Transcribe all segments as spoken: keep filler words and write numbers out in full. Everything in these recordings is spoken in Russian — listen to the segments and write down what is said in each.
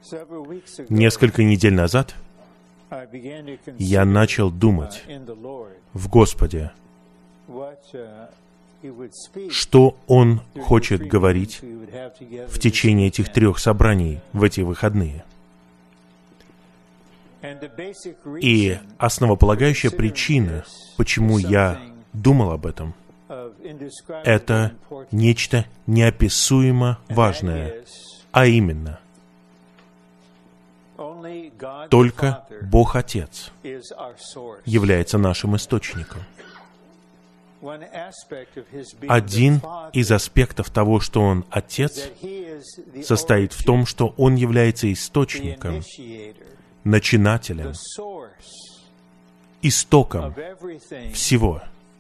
Несколько недель назад я начал думать в Господе, что Он хочет говорить в течение этих трех собраний в эти выходные. И основополагающая причина, почему я думал об этом, это нечто неописуемо важное, а именно, только Бог Отец является нашим источником. Один из аспектов того, что Он Отец, состоит в том, что Он является источником, начинателем, истоком всего,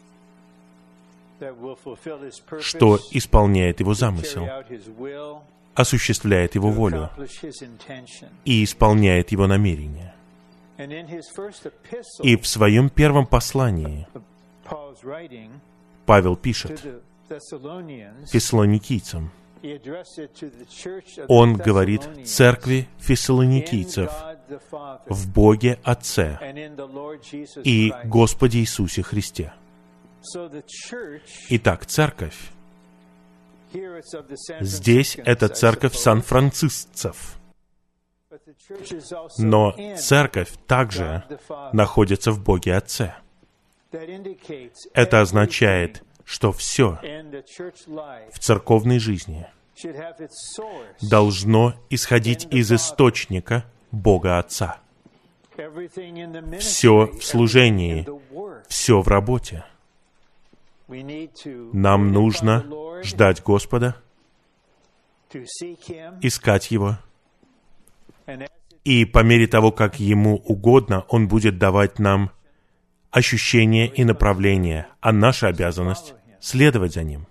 что исполняет Его замысел, осуществляет Его волю и исполняет Его намерения. И в своем первом послании Павел пишет фессалоникийцам, он говорит церкви фессалоникийцев в Боге Отце и Господе Иисусе Христе. Итак, церковь, здесь это церковь сан-францисцев, но церковь также находится в Боге Отце. Это означает, что все в церковной жизни должно исходить из источника Бога Отца. Все в служении, все в работе. Нам нужно ждать Господа, искать Его, и по мере того, как Ему угодно, Он будет давать нам ощущение и направление, а наша обязанность — следовать за Ним.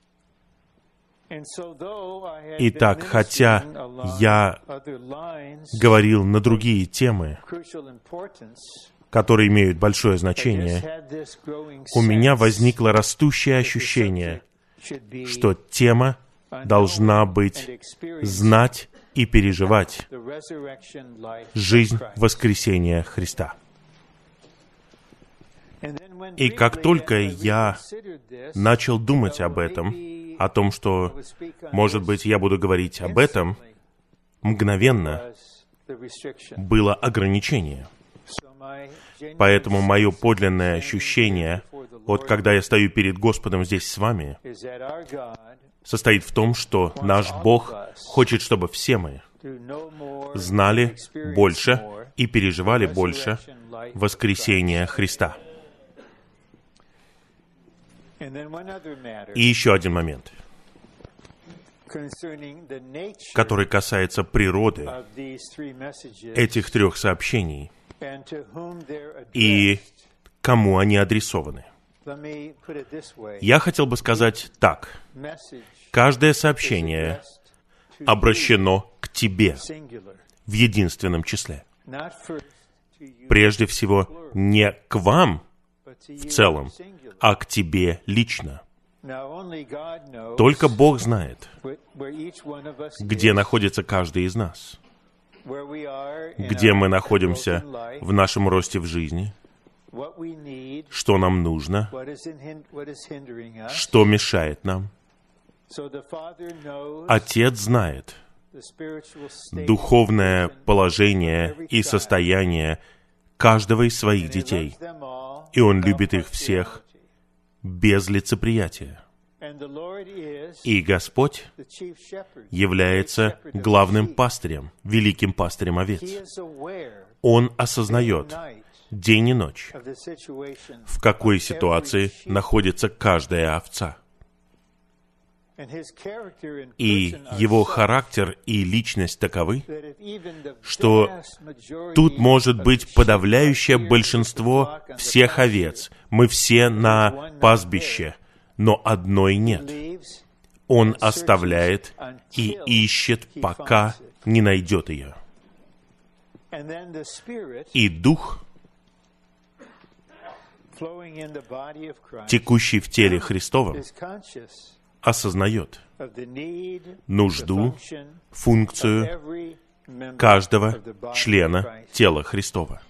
Итак, хотя я говорил на другие темы, которые имеют большое значение, у меня возникло растущее ощущение, что тема должна быть знать и переживать жизнь воскресения Христа. И как только я начал думать об этом, о том, что, может быть, я буду говорить об этом, мгновенно было ограничение. Поэтому мое подлинное ощущение, вот когда я стою перед Господом здесь с вами, состоит в том, что наш Бог хочет, чтобы все мы знали больше и переживали больше воскресения Христа. И еще один момент, который касается природы этих трех сообщений и кому они адресованы. Я хотел бы сказать так. Каждое сообщение обращено к тебе в единственном числе. Прежде всего, не к вам в целом, а к тебе лично. Только Бог знает, где находится каждый из нас, где мы находимся в нашем росте в жизни, что нам нужно, что мешает нам. Отец знает духовное положение и состояние каждого из своих детей, и Он любит их всех без лицеприятия. И Господь является главным пастырем, великим пастырем овец. Он осознает день и ночь, в какой ситуации находится каждая овца. И его характер и личность таковы, что тут может быть подавляющее большинство всех овец. Мы все на пастбище, но одной нет. Он оставляет и ищет, пока не найдет ее. И Дух, текущий в теле Христовом, осознает нужду, функцию каждого члена тела Христова.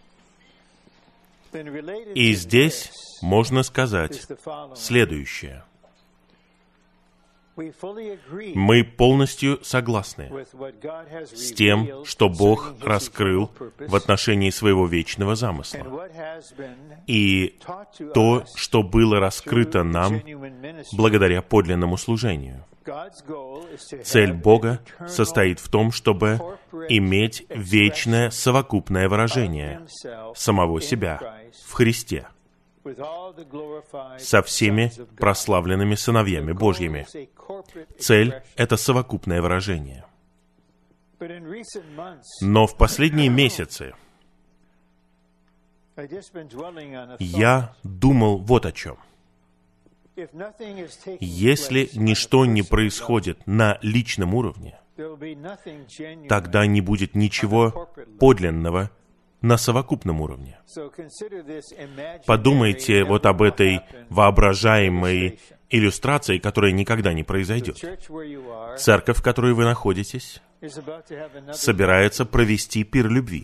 И здесь можно сказать следующее. Мы полностью согласны с тем, что Бог раскрыл в отношении своего вечного замысла. И то, что было раскрыто нам благодаря подлинному служению. Цель Бога состоит в том, чтобы иметь вечное совокупное выражение самого себя в Христе со всеми прославленными сыновьями Божьими. Цель — это совокупное выражение. Но в последние месяцы я думал вот о чем. Если ничто не происходит на личном уровне, тогда не будет ничего подлинного на совокупном уровне. Подумайте вот об этой воображаемой иллюстрации, которая никогда не произойдет. Церковь, в которой вы находитесь, собирается провести пир любви.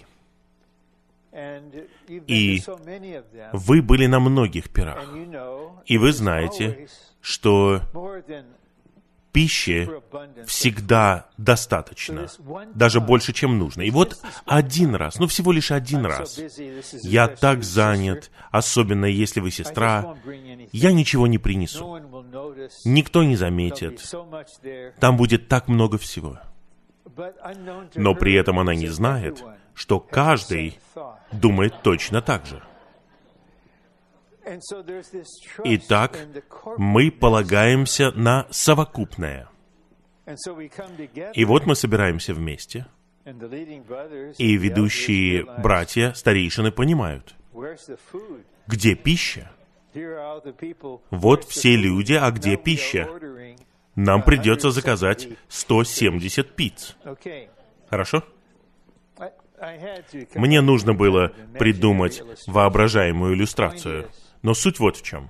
И вы были на многих пирах. И вы знаете, что пищи всегда достаточно, даже больше, чем нужно. И вот один раз, ну всего лишь один раз, я так занят, особенно если вы сестра, я ничего не принесу. Никто не заметит. Там будет так много всего. Но при этом она не знает, что каждый думает точно так же. Итак, мы полагаемся на совокупное. И вот мы собираемся вместе, и ведущие братья, старейшины понимают, где пища? Вот все люди, а где пища? Нам придется заказать сто семьдесят пиц. Хорошо? Мне нужно было придумать воображаемую иллюстрацию. Но суть вот в чем.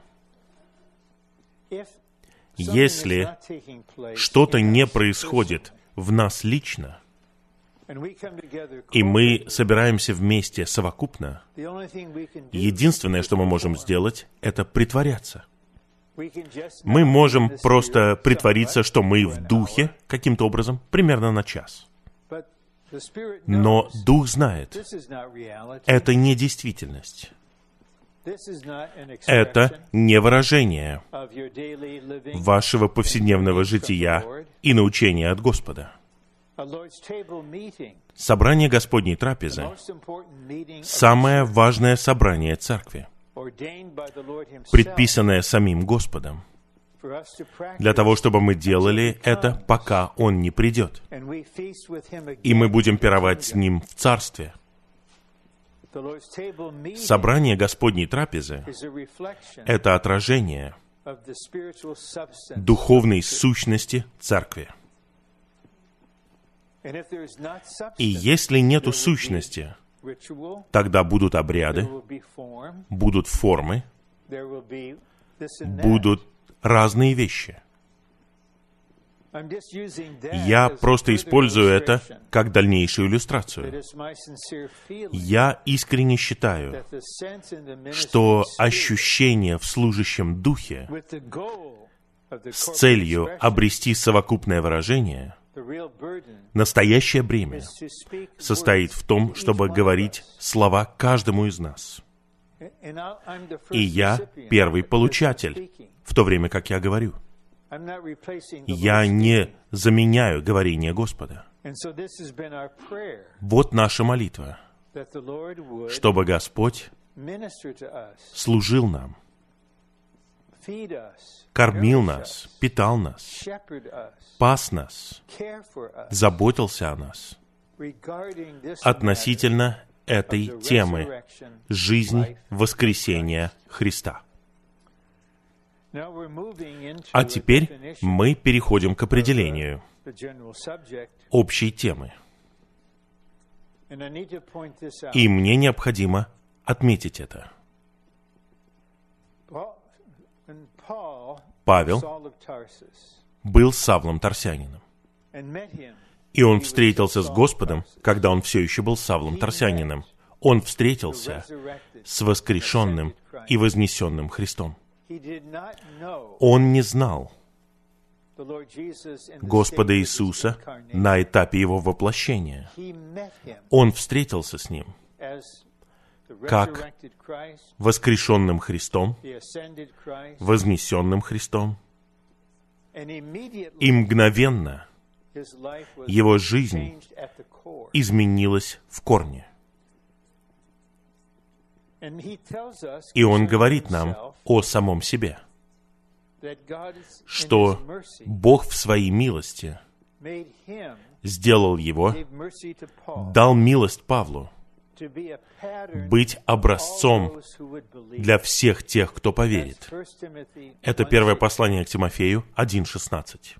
Если что-то не происходит в нас лично, и мы собираемся вместе совокупно, единственное, что мы можем сделать, это притворяться. Мы можем просто притвориться, что мы в духе каким-то образом, примерно на час. Но Дух знает, это не действительность. Это не выражение вашего повседневного жития и научения от Господа. Собрание Господней трапезы — самое важное собрание Церкви, предписанное самим Господом, для того, чтобы мы делали это, пока Он не придет. И мы будем пировать с Ним в Царстве. Собрание Господней трапезы — это отражение духовной сущности Церкви. И если нету сущности, тогда будут обряды, будут формы, будут разные вещи. Я просто использую это как дальнейшую иллюстрацию. Я искренне считаю, что ощущение в служащем духе с целью обрести совокупное выражение, настоящее бремя состоит в том, чтобы говорить слова каждому из нас. И я первый получатель, в то время как я говорю. Я не заменяю говорение Господа. Вот наша молитва, чтобы Господь служил нам, кормил нас, питал нас, пас нас, заботился о нас относительно этой темы «Жизнь воскресения Христа». А теперь мы переходим к определению общей темы. И мне необходимо отметить это. Павел был Савлом Тарсянином. И он встретился с Господом, когда он все еще был Савлом Тарсянином. Он встретился с воскрешенным и вознесенным Христом. Он не знал Господа Иисуса на этапе Его воплощения. Он встретился с Ним как воскрешенным Христом, вознесенным Христом, и мгновенно его жизнь изменилась в корне. И он говорит нам о самом себе, что Бог в своей милости сделал его, дал милость Павлу быть образцом для всех тех, кто поверит. Это первое послание к Тимофею один шестнадцать.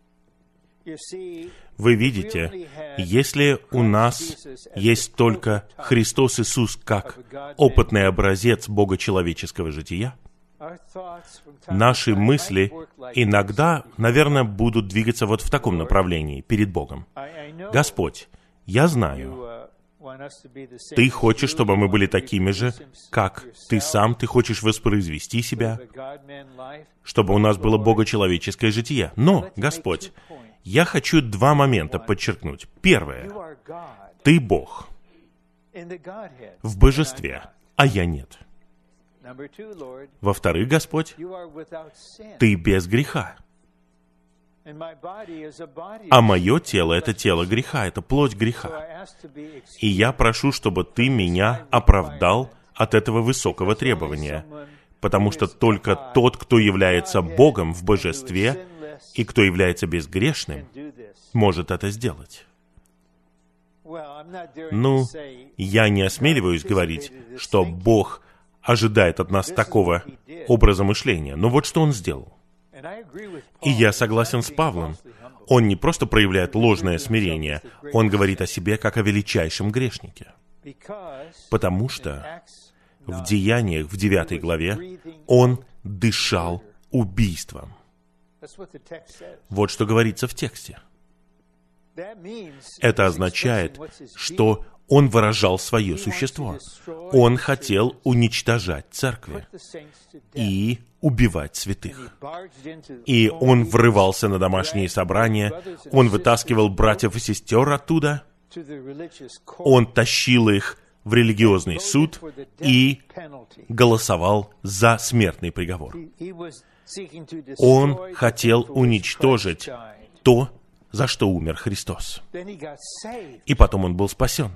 Вы видите, если у нас есть только Христос Иисус как опытный образец богочеловеческого жития, наши мысли иногда, наверное, будут двигаться вот в таком направлении перед Богом. Господь, я знаю, Ты хочешь, чтобы мы были такими же, как Ты сам, Ты хочешь воспроизвести себя, чтобы у нас было богочеловеческое житие. Но, Господь, я хочу два момента подчеркнуть. Первое. Ты Бог в божестве, а я нет. Во-вторых, Господь, Ты без греха. А мое тело — это тело греха, это плоть греха. И я прошу, чтобы Ты меня оправдал от этого высокого требования, потому что только тот, кто является Богом в божестве и кто является безгрешным, может это сделать. Ну, я не осмеливаюсь говорить, что Бог ожидает от нас такого образа мышления, но вот что Он сделал. И я согласен с Павлом. Он не просто проявляет ложное смирение, он говорит о себе как о величайшем грешнике. Потому что в Деяниях, в девятой главе, он дышал убийством. Вот что говорится в тексте. Это означает, что он выражал свое существо. Он хотел уничтожать церкви и убивать святых. И он врывался на домашние собрания, он вытаскивал братьев и сестер оттуда, он тащил их в религиозный суд и голосовал за смертный приговор. Он хотел уничтожить то, за что умер Христос. И потом он был спасен.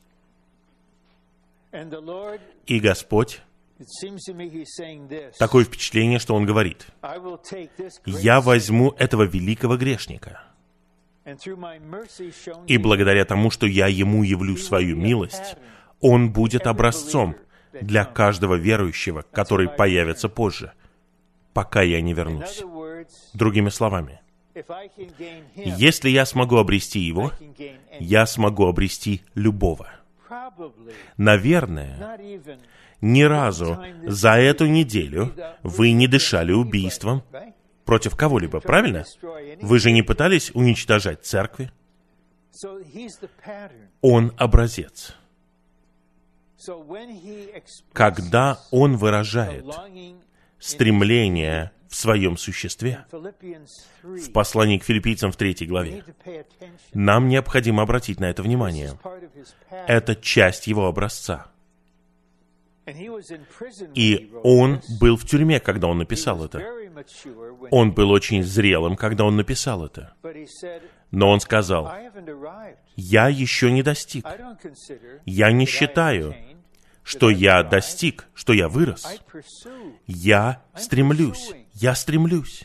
И Господь, такое впечатление, что Он говорит: «Я возьму этого великого грешника, и благодаря тому, что я ему явлю свою милость, он будет образцом для каждого верующего, который появится позже, пока я не вернусь». Другими словами, если я смогу обрести его, я смогу обрести любого. Наверное, ни разу за эту неделю вы не дышали убийством против кого-либо, правильно? Вы же не пытались уничтожать церкви? Он образец. Когда он выражает стремление в своем существе, в послании к Филиппийцам в третьей главе, нам необходимо обратить на это внимание. Это часть его образца. И он был в тюрьме, когда он написал это. Он был очень зрелым, когда он написал это. Но он сказал: «Я еще не достиг. Я не считаю, что я достиг, что я вырос. Я стремлюсь, я стремлюсь.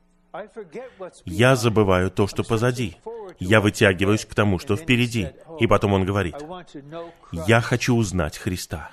Я забываю то, что позади. Я вытягиваюсь к тому, что впереди». И потом он говорит: «Я хочу узнать Христа.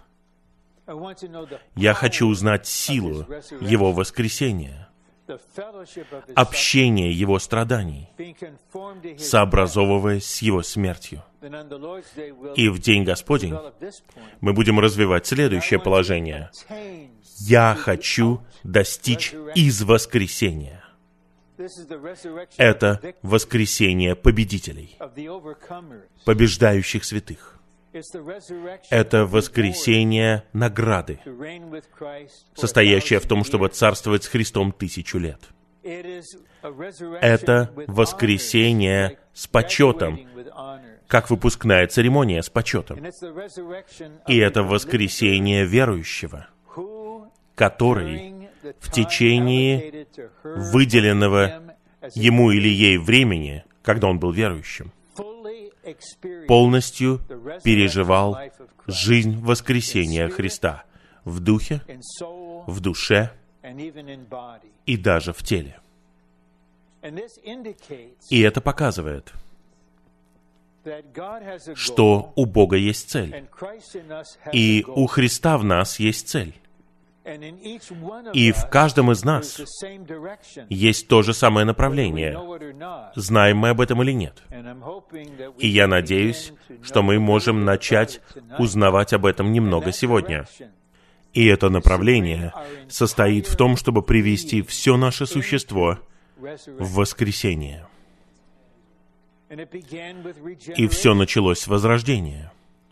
Я хочу узнать силу Его воскресения, общение Его страданий, сообразовываясь с Его смертью». И в День Господень мы будем развивать следующее положение. Я хочу достичь из воскресения. Это воскресение победителей, побеждающих святых. Это воскресение награды, состоящее в том, чтобы царствовать с Христом тысячу лет. Это воскресение с почетом, как выпускная церемония с почетом. И это воскресение верующего, который в течение выделенного ему или ей времени, когда он был верующим, полностью переживал жизнь воскресения Христа в духе, в душе и даже в теле. И это показывает, что у Бога есть цель, и у Христа в нас есть цель. И в каждом из нас есть то же самое направление, знаем мы об этом или нет. И я надеюсь, что мы можем начать узнавать об этом немного сегодня. И это направление состоит в том, чтобы привести все наше существо в воскресение. И все началось с возрождения.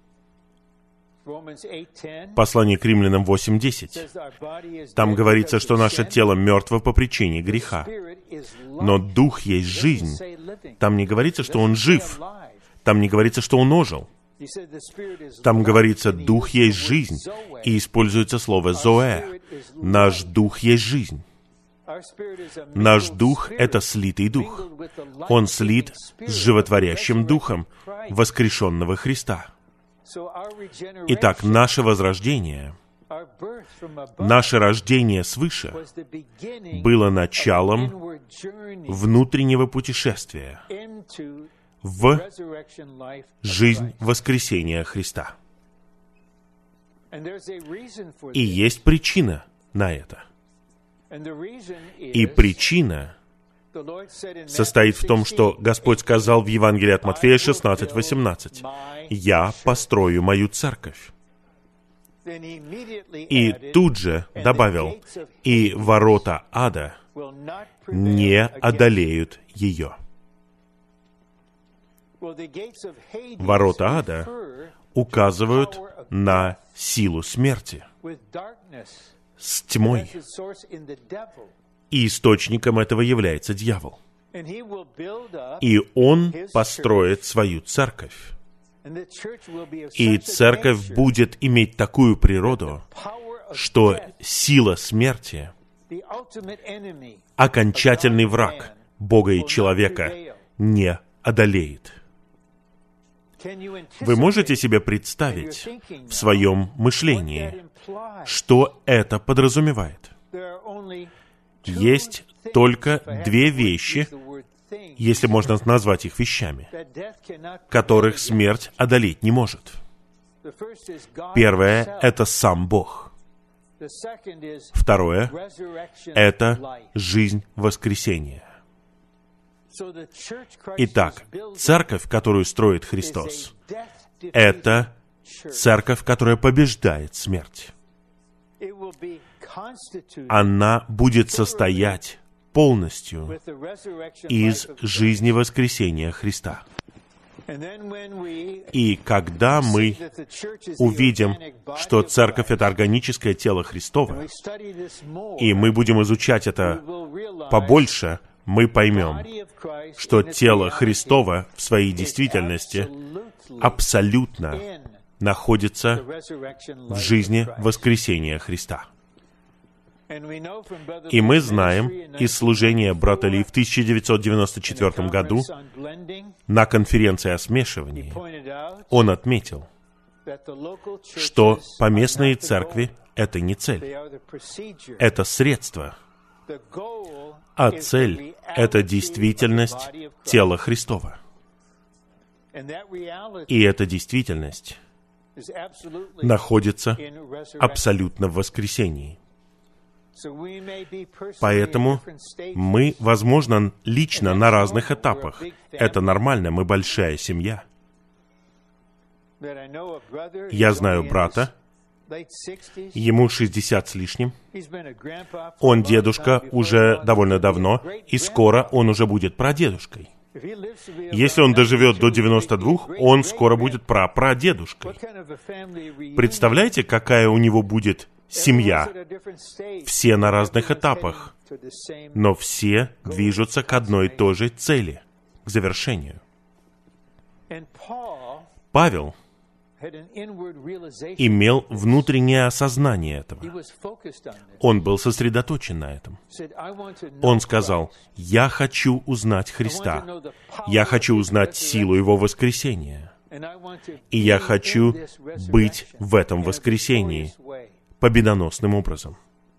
Послание к Римлянам восемь десять. Там говорится, что наше тело мертво по причине греха. Но Дух есть жизнь. Там не говорится, что Он жив. Там не говорится, что Он ожил. Там говорится, Дух есть жизнь. И используется слово «зоэ». Наш Дух есть жизнь. Наш Дух — это слитый Дух. Он слит с животворящим Духом воскрешенного Христа. Итак, наше возрождение, наше рождение свыше было началом внутреннего путешествия в жизнь воскресения Христа. И есть причина на это. И причина состоит в том, что Господь сказал в Евангелии от Матфея шестнадцать восемнадцать: «Я построю мою церковь». И тут же добавил: «И ворота ада не одолеют ее». Ворота ада указывают на силу смерти с тьмой. И источником этого является дьявол. И он построит свою церковь. И церковь будет иметь такую природу, что сила смерти, окончательный враг Бога и человека, не одолеет. Вы можете себе представить в своем мышлении, что это подразумевает? Есть только две вещи, если можно назвать их вещами, которых смерть одолеть не может. Первое — это сам Бог. Второе — это жизнь воскресения. Итак, церковь, которую строит Христос, это церковь, которая побеждает смерть. Она будет состоять полностью из жизни воскресения Христа. И когда мы увидим, что церковь — это органическое тело Христово, и мы будем изучать это побольше, мы поймем, что тело Христово в своей действительности абсолютно находится в жизни воскресения Христа. И мы знаем из служения брата Ли в тысяча девятьсот девяносто четвёртом году на конференции о смешивании он отметил, что поместные церкви — это не цель, это средство, а цель — это действительность тела Христова. И эта действительность находится абсолютно в воскресении. Поэтому мы, возможно, лично на разных этапах. Это нормально, мы большая семья. Я знаю брата, Ему шестьдесят с лишним. Он дедушка уже довольно давно, и скоро он уже будет прадедушкой. Если он доживет до девяноста двух, он скоро будет прапрадедушкой. Представляете, какая у него будет семья? Все на разных этапах, но все движутся к одной и той же цели, к завершению. Павел имел внутреннее осознание этого. Он был сосредоточен на этом. Он сказал: «Я хочу узнать Христа. Я хочу узнать силу Его воскресения. И я хочу быть в этом воскресении победоносным образом».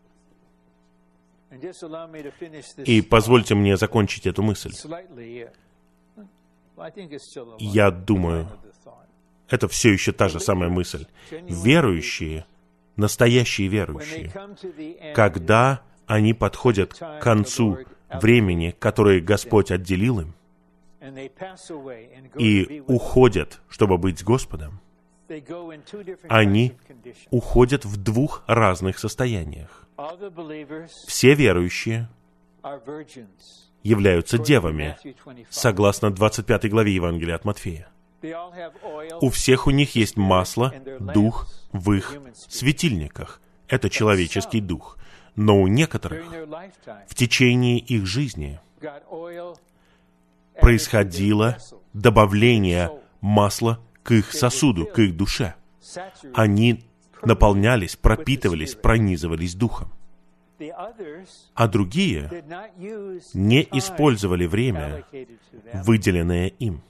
И позвольте мне закончить эту мысль. Я думаю, это все еще та же самая мысль. Верующие, настоящие верующие, когда они подходят к концу времени, которое Господь отделил им, и уходят, чтобы быть с Господом, они уходят в двух разных состояниях. Все верующие являются девами, согласно двадцать пятой главе Евангелия от Матфея. У всех у них есть масло, дух в их светильниках. Это человеческий дух. Но у некоторых в течение их жизни происходило добавление масла к их сосуду, к их душе. Они наполнялись, пропитывались, пронизывались духом. А другие не использовали время, выделенное им.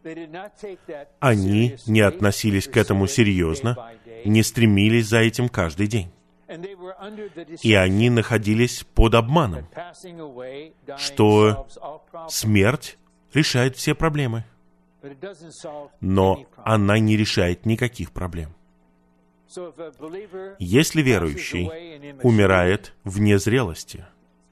Они не относились к этому серьезно, не стремились за этим каждый день. И они находились под обманом, что смерть решает все проблемы. Но она не решает никаких проблем. Если верующий умирает вне зрелости,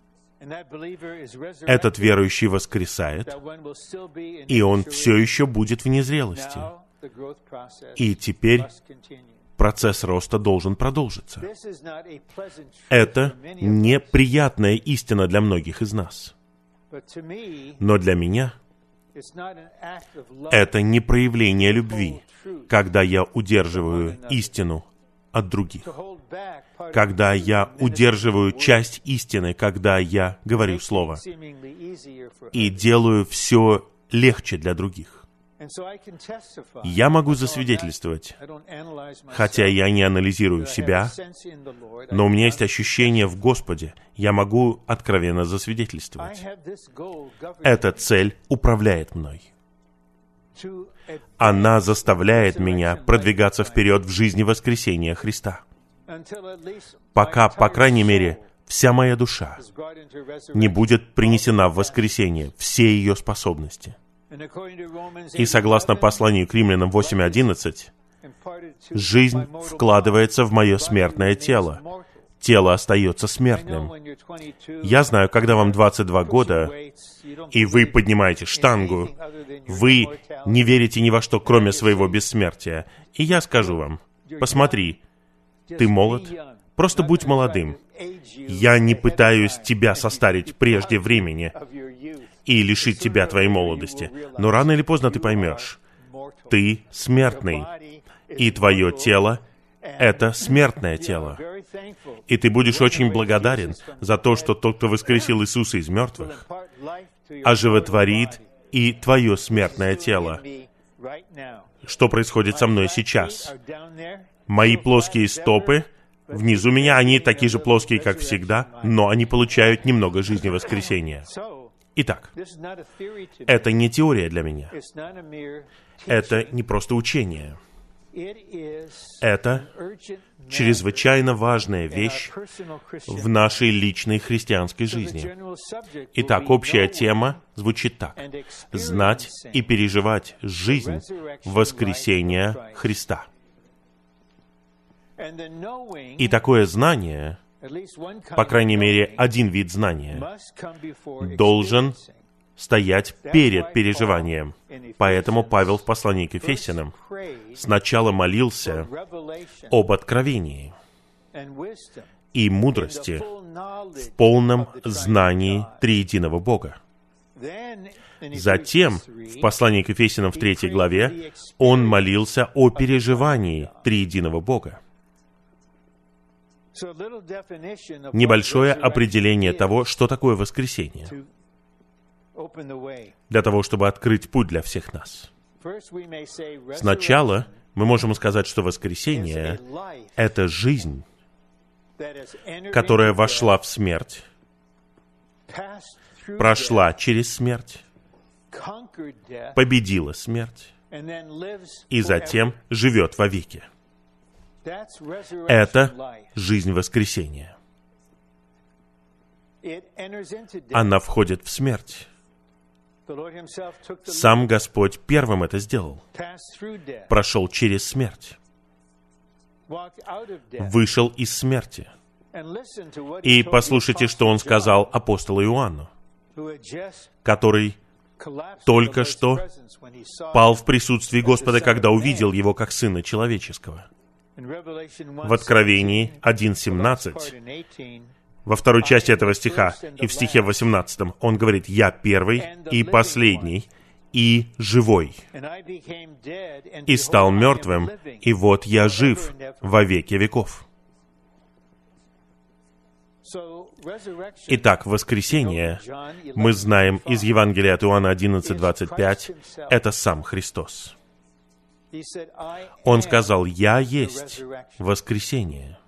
этот верующий воскресает, и он все еще будет в незрелости. И теперь процесс роста должен продолжиться. Это неприятная истина для многих из нас. Но для меня это не проявление любви, когда я удерживаю истину от других, когда я удерживаю часть истины, когда я говорю слово, и делаю все легче для других. Я могу засвидетельствовать, хотя я не анализирую себя, но у меня есть ощущение в Господе, я могу откровенно засвидетельствовать. Эта цель управляет мной. Она заставляет меня продвигаться вперед в жизни воскресения Христа. Пока, по крайней мере, вся моя душа не будет принесена в воскресение, все ее способности. И согласно посланию к Римлянам восемь одиннадцать, жизнь вкладывается в мое смертное тело. Тело остается смертным. Я знаю, когда вам двадцать два года, и вы поднимаете штангу, вы не верите ни во что, кроме своего бессмертия. И я скажу вам: посмотри, ты молод, просто будь молодым. Я не пытаюсь тебя состарить прежде времени и лишить тебя твоей молодости. Но рано или поздно ты поймешь, ты смертный, и твое тело — это смертное тело. И ты будешь очень благодарен за то, что тот, кто воскресил Иисуса из мертвых, оживотворит и твое смертное тело. Что происходит со мной сейчас? Мои плоские стопы внизу меня, они такие же плоские, как всегда, но они получают немного жизни воскресения. Итак, это не теория для меня. Это не просто учение. Это чрезвычайно важная вещь в нашей личной христианской жизни. Итак, общая тема звучит так: знать и переживать жизнь воскресения Христа. И такое знание, по крайней мере, один вид знания, должен стоять перед переживанием. Поэтому Павел в послании к Ефесянам сначала молился об откровении и мудрости в полном знании триединого Бога. Затем, в послании к Ефесянам в третьей главе, он молился о переживании триединого Бога. Небольшое определение того, что такое воскресение, для того, чтобы открыть путь для всех нас. Сначала мы можем сказать, что воскресение — это жизнь, которая вошла в смерть, прошла через смерть, победила смерть и затем живет вовеки. Это жизнь воскресения. Она входит в смерть. Сам Господь первым это сделал. Прошел через смерть. Вышел из смерти. И послушайте, что Он сказал апостолу Иоанну, который только что пал в присутствии Господа, когда увидел Его как Сына Человеческого. В Откровении один семнадцать, во второй части этого стиха и в стихе восемнадцатом, он говорит: «Я первый и последний, и живой, и стал мертвым, и вот я жив во веки веков». Итак, воскресение, мы знаем из Евангелия от Иоанна одиннадцать двадцать пять, это сам Христос. Он сказал: «Я есть воскресение».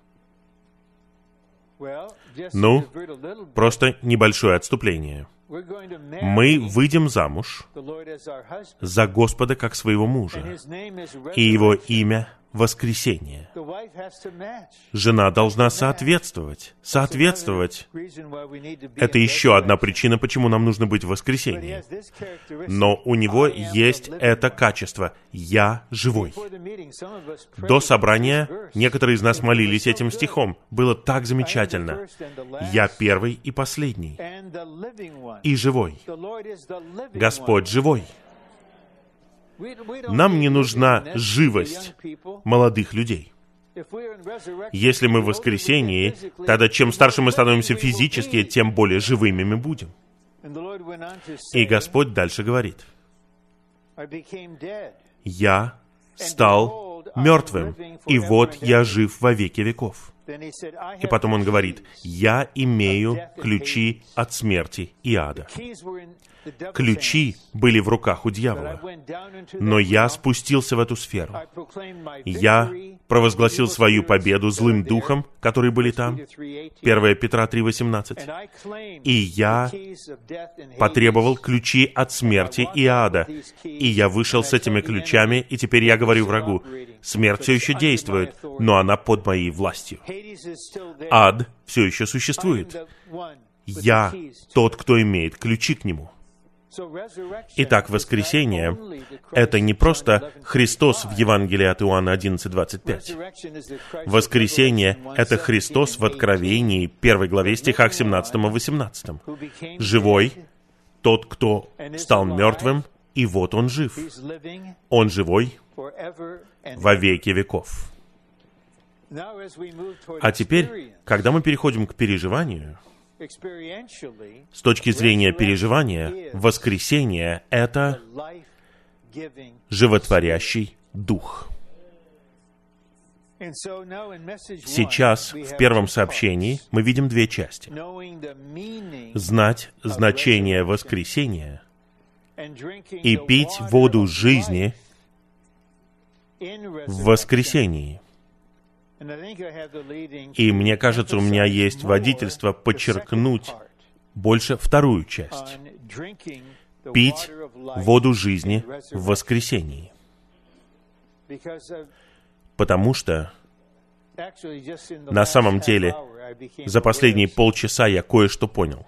Ну, просто небольшое отступление. Мы выйдем замуж за Господа как своего мужа, и Его имя — воскресение. Жена должна соответствовать. Соответствовать — это еще одна причина, почему нам нужно быть в воскресении. Но у него есть это качество — «Я живой». До собрания некоторые из нас молились этим стихом. Было так замечательно. «Я первый и последний, и живой». Господь живой. Нам не нужна живость молодых людей. Если мы в воскресении, тогда чем старше мы становимся физически, тем более живыми мы будем. И Господь дальше говорит: «Я стал мертвым, и вот я жив во веки веков». И потом Он говорит: «Я имею ключи от смерти и ада». Ключи были в руках у дьявола, но я спустился в эту сферу. Я провозгласил свою победу злым духом, которые были там, первое Петра три восемнадцать, и я потребовал ключи от смерти и ада, и я вышел с этими ключами, и теперь я говорю врагу: смерть все еще действует, но она под моей властью. Ад все еще существует. Я тот, кто имеет ключи к нему. Итак, воскресение — это не просто Христос в Евангелии от Иоанна одиннадцать двадцать пять. Воскресение — это Христос в Откровении, первой главе, стихах семнадцатом и восемнадцатом. Живой, тот, кто стал мертвым, и вот Он жив. Он живой во веки веков. А теперь, когда мы переходим к переживанию, с точки зрения переживания, воскресение — это животворящий дух. Сейчас, в первом сообщении, мы видим две части. Знать значение воскресения и пить воду жизни в воскресении. И мне кажется, у меня есть водительство подчеркнуть больше вторую часть. Пить воду жизни в воскресении. Потому что на самом деле за последние полчаса я кое-что понял.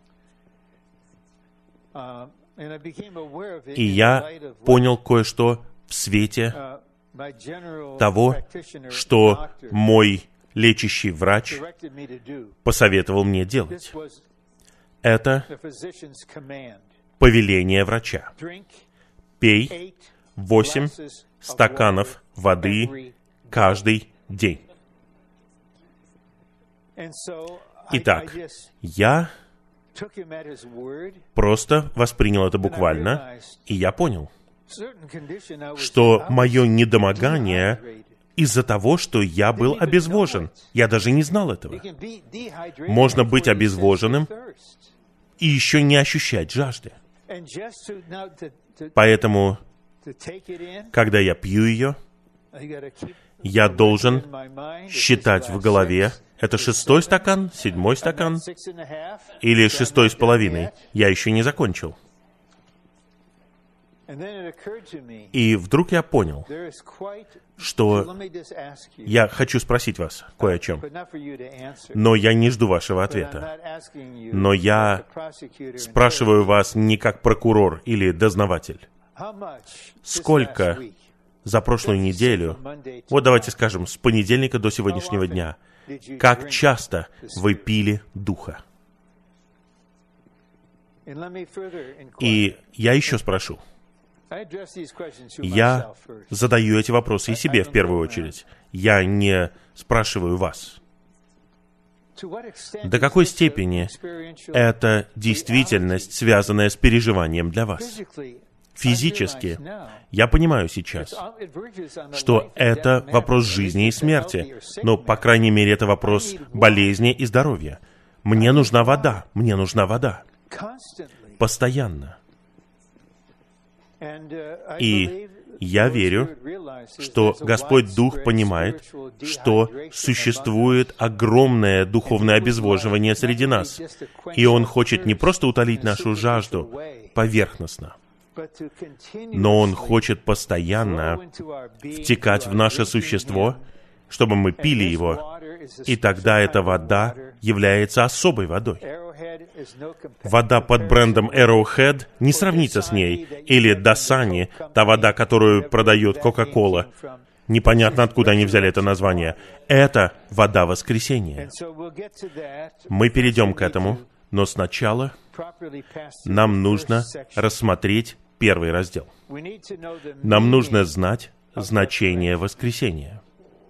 И я понял кое-что в свете того, что мой лечащий врач посоветовал мне делать. Это повеление врача. Пей восемь стаканов воды каждый день. Итак, я просто воспринял это буквально, и я понял, что мое недомогание из-за того, что я был обезвожен. Я даже не знал этого. Можно быть обезвоженным и еще не ощущать жажды. Поэтому, когда я пью ее, я должен считать в голове, это шестой стакан, седьмой стакан или шестой с половиной. Я еще не закончил. И вдруг я понял, что я хочу спросить вас кое о чем, но я не жду вашего ответа. Но я спрашиваю вас не как прокурор или дознаватель. Сколько за прошлую неделю, вот давайте скажем, с понедельника до сегодняшнего дня, как часто вы пили Духа? И я еще спрошу. Я задаю эти вопросы и себе в первую очередь. Я не спрашиваю вас. До какой степени это действительность, связанная с переживанием для вас? Физически, я понимаю сейчас, что это вопрос жизни и смерти, но, по крайней мере, это вопрос болезни и здоровья. Мне нужна вода, мне нужна вода. Постоянно. И я верю, что Господь Дух понимает, что существует огромное духовное обезвоживание среди нас, и Он хочет не просто утолить нашу жажду поверхностно, но Он хочет постоянно втекать в наше существо, чтобы мы пили Его, и тогда эта вода является особой водой. Вода под брендом Arrowhead не сравнится с ней, или Dasani, та вода, которую продает Coca-Cola. Непонятно, откуда они взяли это название. Это вода воскресения. Мы перейдем к этому, но сначала нам нужно рассмотреть первый раздел. Нам нужно знать значение воскресения.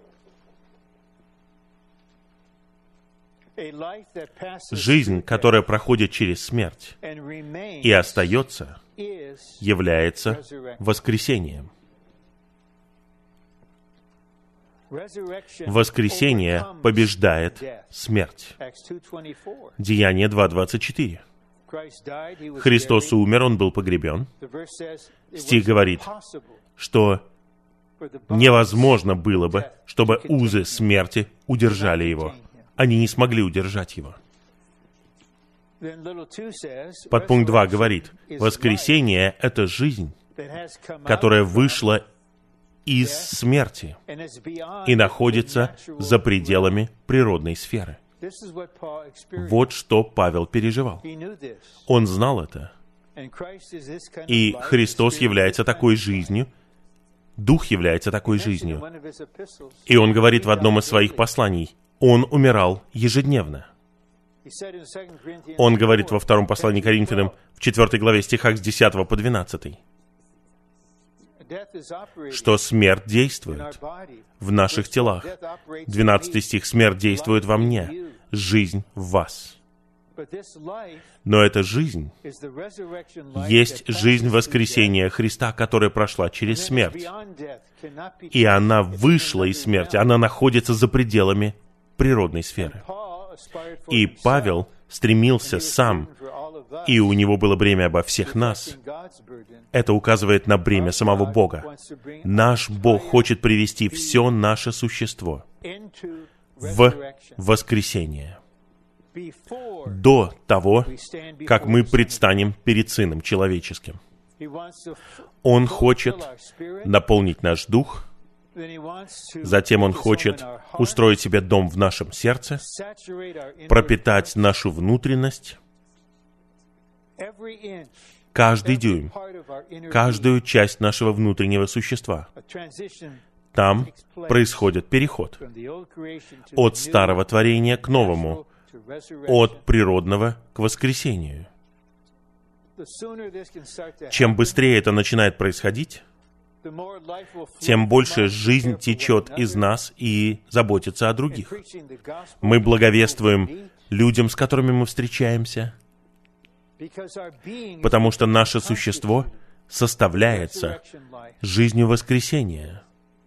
Жизнь, которая проходит через смерть и остается, является воскресением. Воскресение побеждает смерть. Деяние два двадцать четыре. Христос умер, Он был погребен. Стих говорит, что невозможно было бы, чтобы узы смерти удержали Его. Они не смогли удержать Его. Подпункт два говорит, воскресение — это жизнь, которая вышла из смерти и находится за пределами природной сферы. Вот что Павел переживал. Он знал это. И Христос является такой жизнью, Дух является такой жизнью. И он говорит в одном из своих посланий, Он умирал ежедневно. Он говорит во втором послании к Коринфянам, в четвёртой главе, стихах с десятого по двенадцатый, что смерть действует в наших телах. двенадцатый стих, смерть действует во мне, жизнь в вас. Но эта жизнь есть жизнь воскресения Христа, которая прошла через смерть. И она вышла из смерти, она находится за пределами природной сферы. И Павел стремился сам, и у него было бремя обо всех нас. Это указывает на бремя самого Бога. Наш Бог хочет привести все наше существо в воскресение. До того, как мы предстанем перед Сыном Человеческим. Он хочет наполнить наш дух, затем Он хочет устроить себе дом в нашем сердце, пропитать нашу внутренность, каждый дюйм, каждую часть нашего внутреннего существа. Там происходит переход от старого творения к новому, от природного к воскресению. Чем быстрее это начинает происходить, тем больше жизнь течет из нас и заботится о других. Мы благовествуем людям, с которыми мы встречаемся, потому что наше существо составляется жизнью воскресения.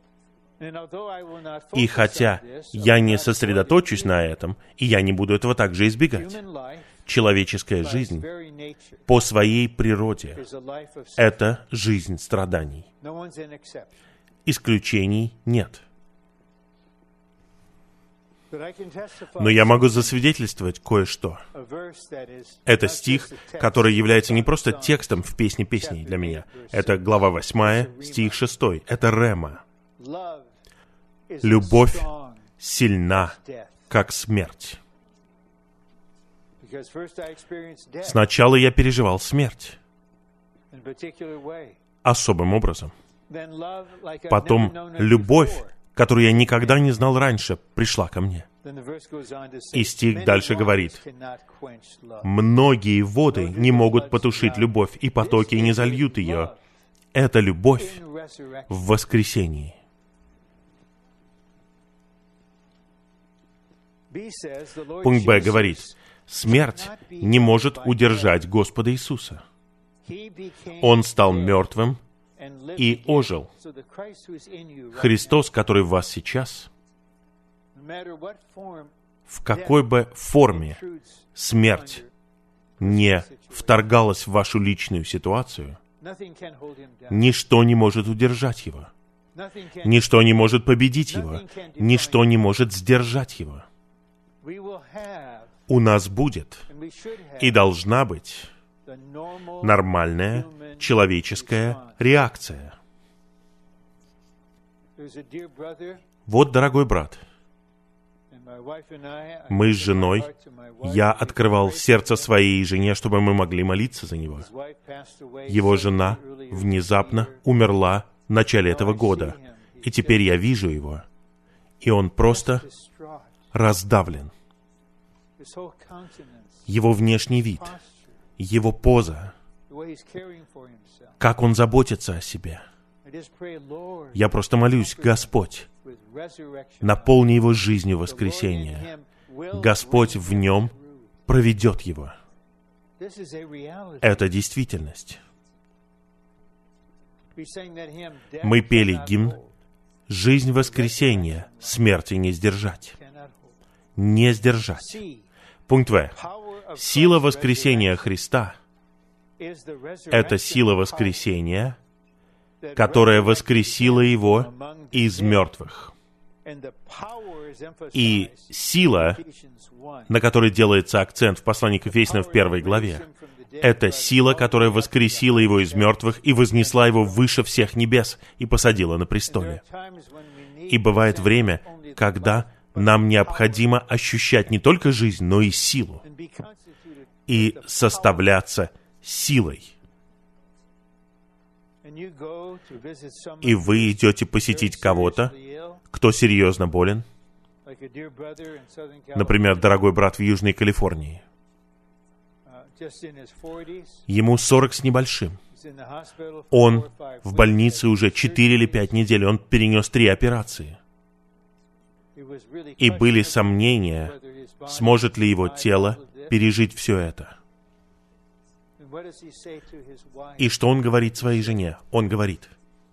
И хотя я не сосредоточусь на этом, и я не буду этого также избегать, человеческая жизнь по своей природе — это жизнь страданий. Исключений нет. Но я могу засвидетельствовать кое-что. Это стих, который является не просто текстом в «Песне песней» для меня. Это глава восьмая, стих шестой. Это рема. «Любовь сильна, как смерть». Сначала я переживал смерть особым образом. Потом любовь, которую я никогда не знал раньше, пришла ко мне. И стих дальше говорит: «Многие воды не могут потушить любовь, и потоки не зальют ее». Это любовь в воскресении. Пункт Б говорит: смерть не может удержать Господа Иисуса. Он стал мертвым и ожил. Христос, который в вас сейчас, в какой бы форме смерть не вторгалась в вашу личную ситуацию, ничто не может удержать его. Ничто не может победить его. Ничто не может сдержать его. У нас будет и должна быть нормальная человеческая реакция. Вот, дорогой брат, мы с женой, я открывал сердце своей жене, чтобы мы могли молиться за него. Его жена внезапно умерла в начале этого года, и теперь я вижу его, и он просто раздавлен. Его внешний вид, его поза, как он заботится о себе. Я просто молюсь: Господь, наполни его жизнью воскресения. Господь в нем проведет его. Это действительность. Мы пели гимн «Жизнь воскресения, смерти не сдержать». Не сдержать. Пункт В. Сила воскресения Христа — это сила воскресения, которая воскресила Его из мертвых. И сила, на которой делается акцент в послании к Ефесянам в первой главе, это сила, которая воскресила Его из мертвых и вознесла Его выше всех небес и посадила на престоле. И бывает время, когда нам необходимо ощущать не только жизнь, но и силу, и составляться силой. И вы идете посетить кого-то, кто серьезно болен, например, дорогой брат в Южной Калифорнии. Ему сорок с небольшим. Он в больнице уже четыре или пять недель, он перенес три операции. И были сомнения, сможет ли его тело пережить все это. И что он говорит своей жене? Он говорит: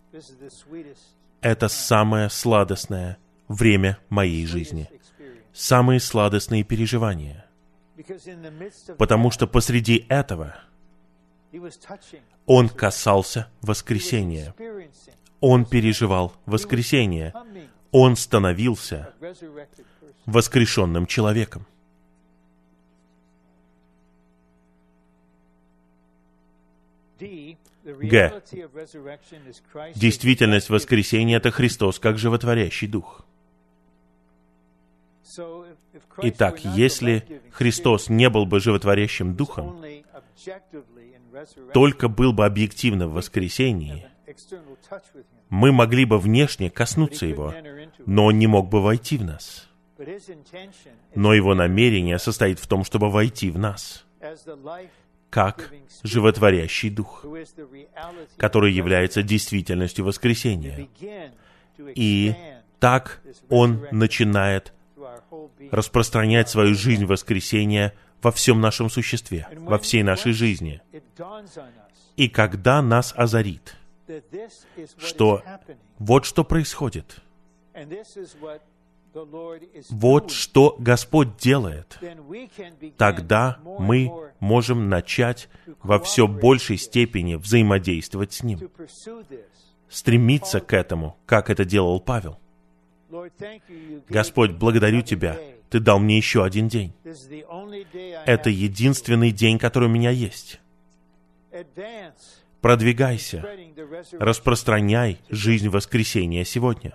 это самое сладостное время моей жизни. Самые сладостные переживания. Потому что посреди этого он касался воскресения. Он переживал воскресение. Он становился воскрешенным человеком. Г. Действительность воскресения — это Христос как животворящий Дух. Итак, если Христос не был бы животворящим Духом, только был бы объективно в воскресении, мы могли бы внешне коснуться Его, но Он не мог бы войти в нас. Но Его намерение состоит в том, чтобы войти в нас. как животворящий Дух, который является действительностью воскресения. И так Он начинает распространять свою жизнь воскресения во всем нашем существе, во всей нашей жизни. И когда нас озарит, что вот что происходит, вот что Господь делает, тогда мы можем начать во все большей степени взаимодействовать с Ним, стремиться к этому, как это делал Павел. Господь, благодарю Тебя, Ты дал мне еще один день. Это единственный день, который у меня есть. Продвигайся, распространяй жизнь воскресения сегодня.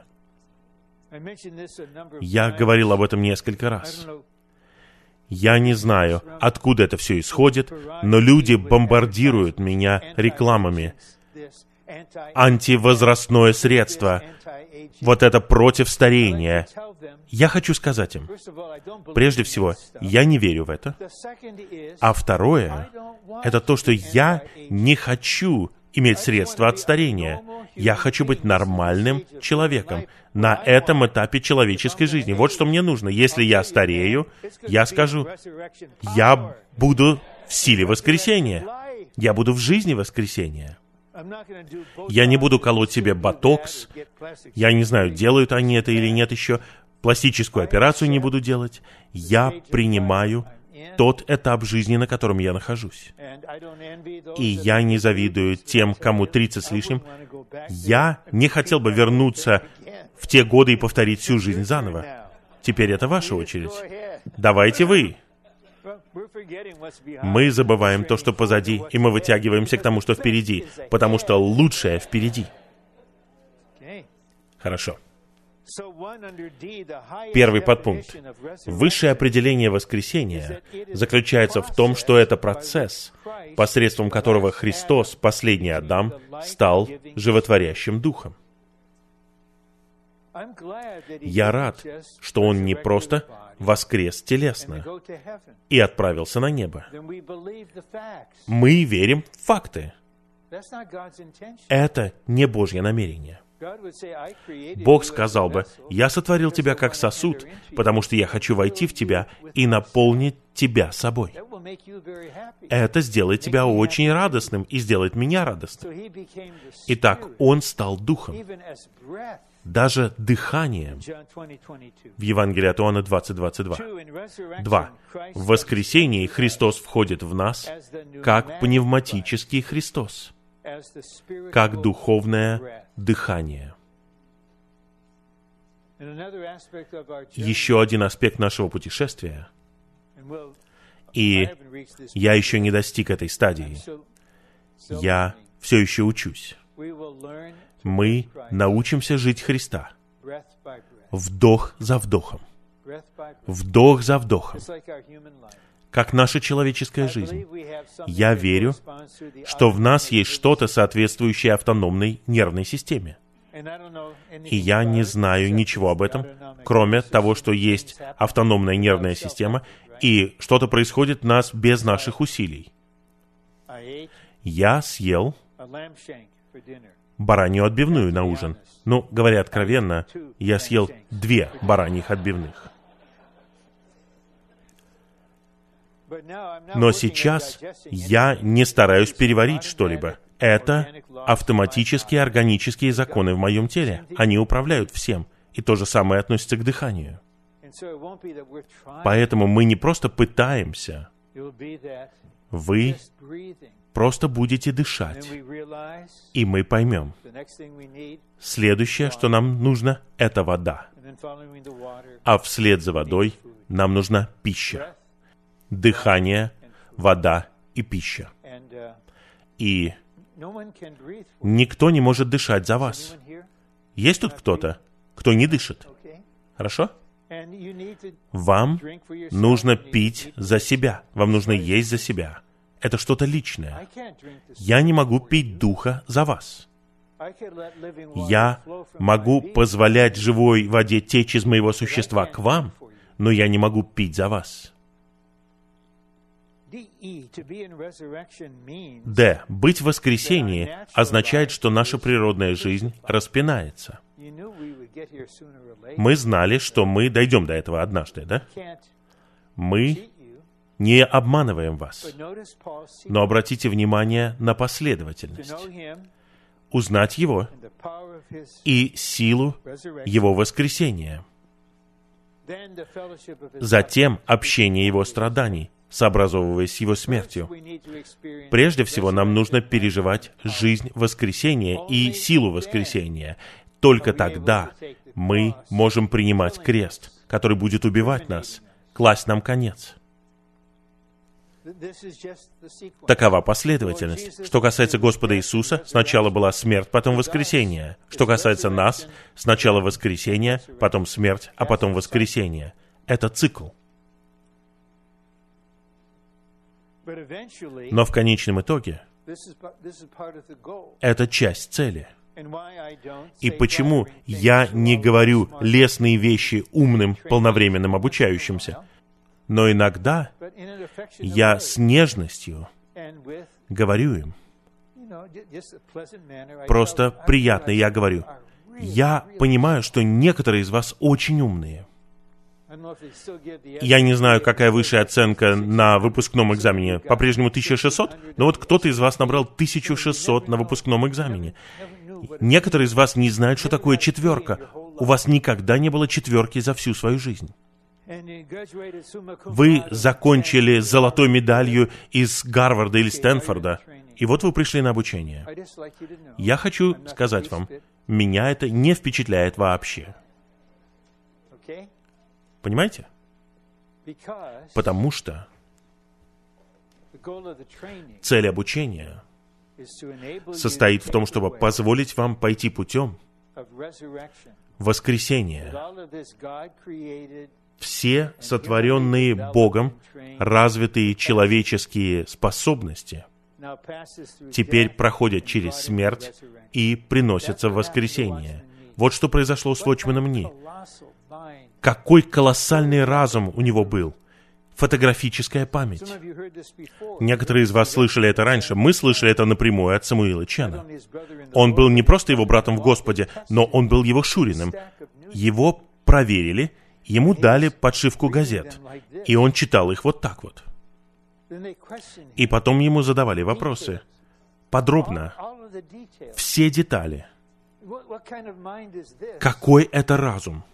Я говорил об этом несколько раз. Я не знаю, откуда это все исходит, но люди бомбардируют меня рекламами. Антивозрастное средство. Вот это против старения. Я хочу сказать им, прежде всего, я не верю в это. А второе, это то, что я не хочу иметь средства от старения. Я хочу быть нормальным человеком на этом этапе человеческой жизни. Вот что мне нужно. Если я старею, я скажу, я буду в силе воскресения. Я буду в жизни воскресения. Я не буду колоть себе ботокс. Я не знаю, делают они это или нет еще. Пластическую операцию не буду делать. Я принимаю тот этап жизни, на котором я нахожусь. И я не завидую тем, кому тридцать с лишним. Я не хотел бы вернуться в те годы и повторить всю жизнь заново. Теперь это ваша очередь. Давайте вы. Мы забываем то, что позади, и мы вытягиваемся к тому, что впереди, потому что лучшее впереди. Хорошо. Первый подпункт. Высшее определение воскресения заключается в том, что это процесс, посредством которого Христос, последний Адам, стал животворящим Духом. Я рад, что Он не просто воскрес телесно и отправился на небо. Мы верим в факты. Это не Божье намерение. Бог сказал бы, «Я сотворил тебя как сосуд, потому что я хочу войти в тебя и наполнить тебя собой». Это сделает тебя очень радостным и сделает меня радостным. Итак, Он стал Духом, даже дыханием. В Евангелии от Иоанна двадцать двадцать два. Два. В воскресении Христос входит в нас как пневматический Христос, как духовное дыхание. Еще один аспект нашего путешествия, и я еще не достиг этой стадии, я все еще учусь. Мы научимся жить Христа вдох за вдохом, вдох за вдохом, как наша человеческая жизнь. Я верю, что в нас есть что-то, соответствующее автономной нервной системе. И я не знаю ничего об этом, кроме того, что есть автономная нервная система, и что-то происходит в нас без наших усилий. Я съел баранью отбивную на ужин. Ну, говоря откровенно, я съел две бараньих отбивных. Но сейчас я не стараюсь переварить что-либо. Это автоматические органические законы в моем теле. Они управляют всем. И то же самое относится к дыханию. Поэтому мы не просто пытаемся. Вы просто будете дышать. И мы поймем. Следующее, что нам нужно, это вода. А вслед за водой нам нужна пища. Дыхание, вода и пища. И никто не может дышать за вас. Есть тут кто-то, кто не дышит? Хорошо? Вам нужно пить за себя. Вам нужно есть за себя. Это что-то личное. Я не могу пить духа за вас. Я могу позволять живой воде течь из моего существа к вам, но я не могу пить за вас. Д. Быть в воскресении означает, что наша природная жизнь распинается. Мы знали, что мы дойдем до этого однажды, да? Мы не обманываем вас. Но обратите внимание на последовательность. Узнать Его и силу Его воскресения. Затем общение Его страданий, сообразовываясь с Его смертью. Прежде всего, нам нужно переживать жизнь воскресения и силу воскресения. Только тогда мы можем принимать крест, который будет убивать нас, класть нам конец. Такова последовательность. Что касается Господа Иисуса, сначала была смерть, потом воскресение. Что касается нас, сначала воскресение, потом смерть, а потом воскресение. Это цикл. Но в конечном итоге это часть цели. И почему я не говорю лестные вещи умным, полновременным обучающимся? Но иногда я с нежностью говорю им. Просто приятно я говорю. Я понимаю, что некоторые из вас очень умные. Я не знаю, какая высшая оценка на выпускном экзамене. По-прежнему тысяча шестьсот? Но вот кто-то из вас набрал тысячу шестьсот на выпускном экзамене. Некоторые из вас не знают, что такое четверка. У вас никогда не было четверки за всю свою жизнь. Вы закончили золотой медалью из Гарварда или Стэнфорда, и вот вы пришли на обучение. Я хочу сказать вам, меня это не впечатляет вообще. Понимаете? Потому что цель обучения состоит в том, чтобы позволить вам пойти путем воскресения. Все сотворенные Богом развитые человеческие способности теперь проходят через смерть и приносятся в воскресение. Вот что произошло с Watchman Nee. Какой колоссальный разум у него был. Фотографическая память. Некоторые из вас слышали это раньше. Мы слышали это напрямую от Самуила Чена. Он был не просто его братом в Господе, но он был его шуриным. Его проверили, ему дали подшивку газет, и он читал их вот так вот. И потом ему задавали вопросы. Подробно. Все детали. Какой это разум?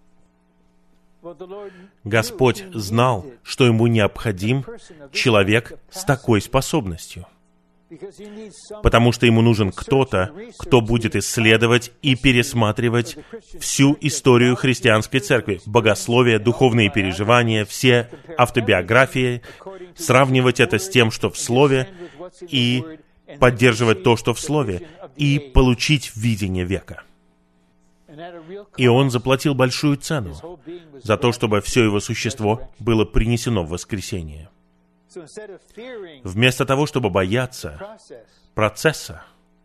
Господь знал, что ему необходим человек с такой способностью. Потому что ему нужен кто-то, кто будет исследовать и пересматривать всю историю христианской церкви, богословие, духовные переживания, все автобиографии, сравнивать это с тем, что в Слове, и поддерживать то, что в Слове, и получить видение века. И он заплатил большую цену за то, чтобы все его существо было принесено в воскресение. Вместо того, чтобы бояться процесса,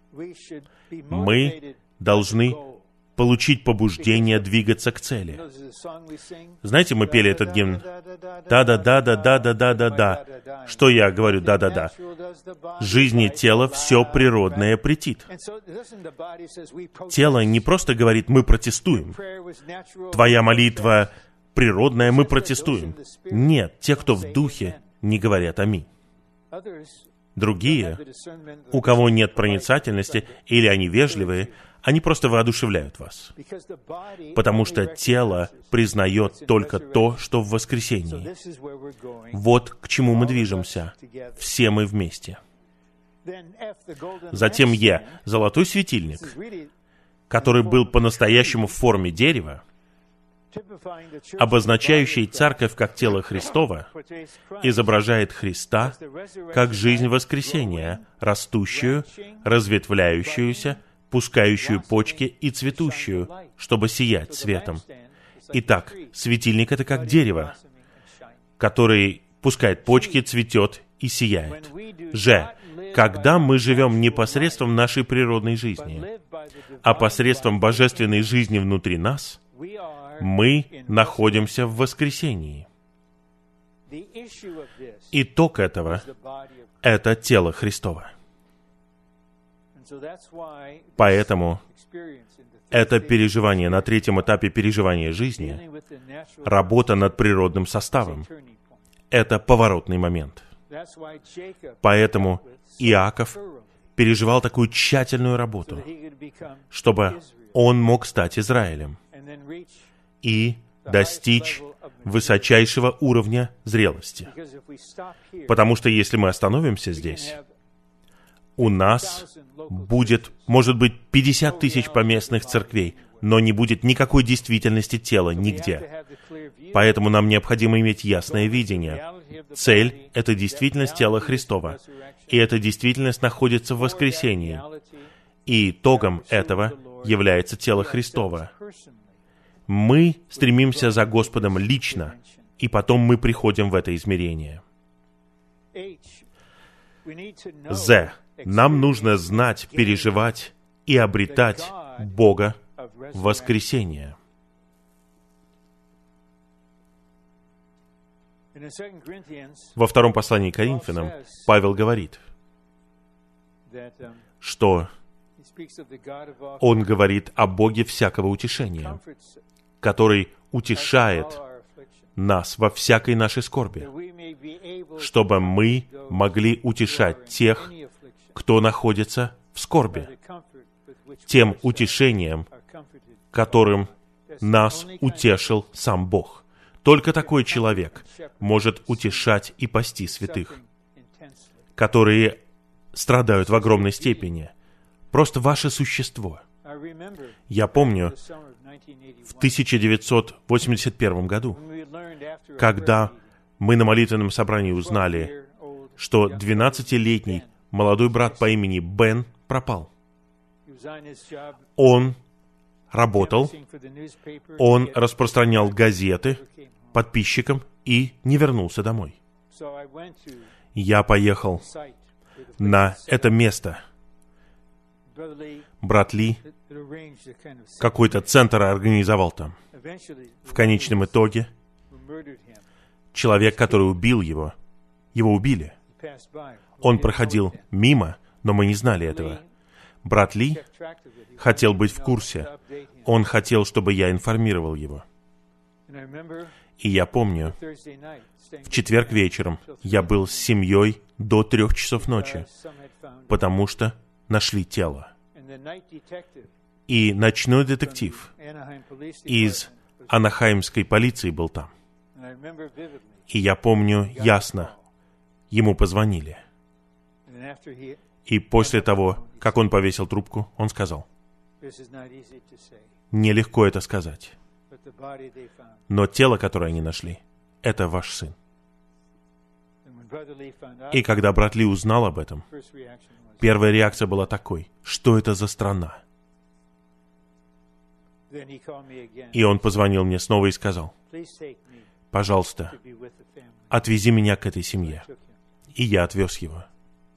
мы должны получить побуждение двигаться к цели. Знаете, мы пели этот гимн. Да-да-да-да-да-да-да-да-да. Что я говорю? Да-да-да. Жизни тела все природное претит. Тело не просто говорит «мы протестуем». Твоя молитва природная, мы протестуем. Нет, те, кто в духе, не говорят «Аминь». Другие, у кого нет проницательности, или они вежливые, они просто воодушевляют вас. Потому что тело признает только то, что в воскресении. Вот к чему мы движемся. Все мы вместе. Затем Е. Золотой светильник, который был по-настоящему в форме дерева, обозначающий церковь как тело Христово, изображает Христа как жизнь воскресения, растущую, разветвляющуюся, пускающую почки и цветущую, чтобы сиять светом. Итак, светильник — это как дерево, который пускает почки, цветет и сияет. Ж. Когда мы живем не посредством нашей природной жизни, а посредством божественной жизни внутри нас, мы находимся в воскресении. Итог этого — это тело Христово. Поэтому это переживание на третьем этапе переживания жизни, работа над природным составом, это поворотный момент. Поэтому Иаков переживал такую тщательную работу, чтобы он мог стать Израилем и достичь высочайшего уровня зрелости. Потому что если мы остановимся здесь, у нас будет, может быть, пятьдесят тысяч поместных церквей, но не будет никакой действительности тела нигде. Поэтому нам необходимо иметь ясное видение. Цель — это действительность тела Христова. И эта действительность находится в воскресении. И итогом этого является тело Христово. Мы стремимся за Господом лично, и потом мы приходим в это измерение. З. Нам нужно знать, переживать и обретать Бога воскресения. Во втором послании к Коринфянам Павел говорит, что он говорит о Боге всякого утешения, который утешает нас во всякой нашей скорби, чтобы мы могли утешать тех, кто находится в скорби, тем утешением, которым нас утешил сам Бог. Только такой человек может утешать и пасти святых, которые страдают в огромной степени. Просто ваше существо. Я помню, в тысяча девятьсот восемьдесят первом году, когда мы на молитвенном собрании узнали, что двенадцатилетний молодой брат по имени Бен пропал. Он работал, он распространял газеты подписчикам и не вернулся домой. Я поехал на это место. Брат Ли какой-то центр организовал там. В конечном итоге человек, который убил его, его убили. Он проходил мимо, но мы не знали этого. Брат Ли хотел быть в курсе. Он хотел, чтобы я информировал его. И я помню, в четверг вечером я был с семьей до трех часов ночи, потому что нашли тело. И ночной детектив из Анахаймской полиции был там. И я помню ясно, ему позвонили. И после того, как он повесил трубку, он сказал, нелегко это сказать, но тело, которое они нашли, это ваш сын. И когда брат Ли узнал об этом, первая реакция была такой: что это за страна? И он позвонил мне снова и сказал: пожалуйста, отвези меня к этой семье. И я отвез его.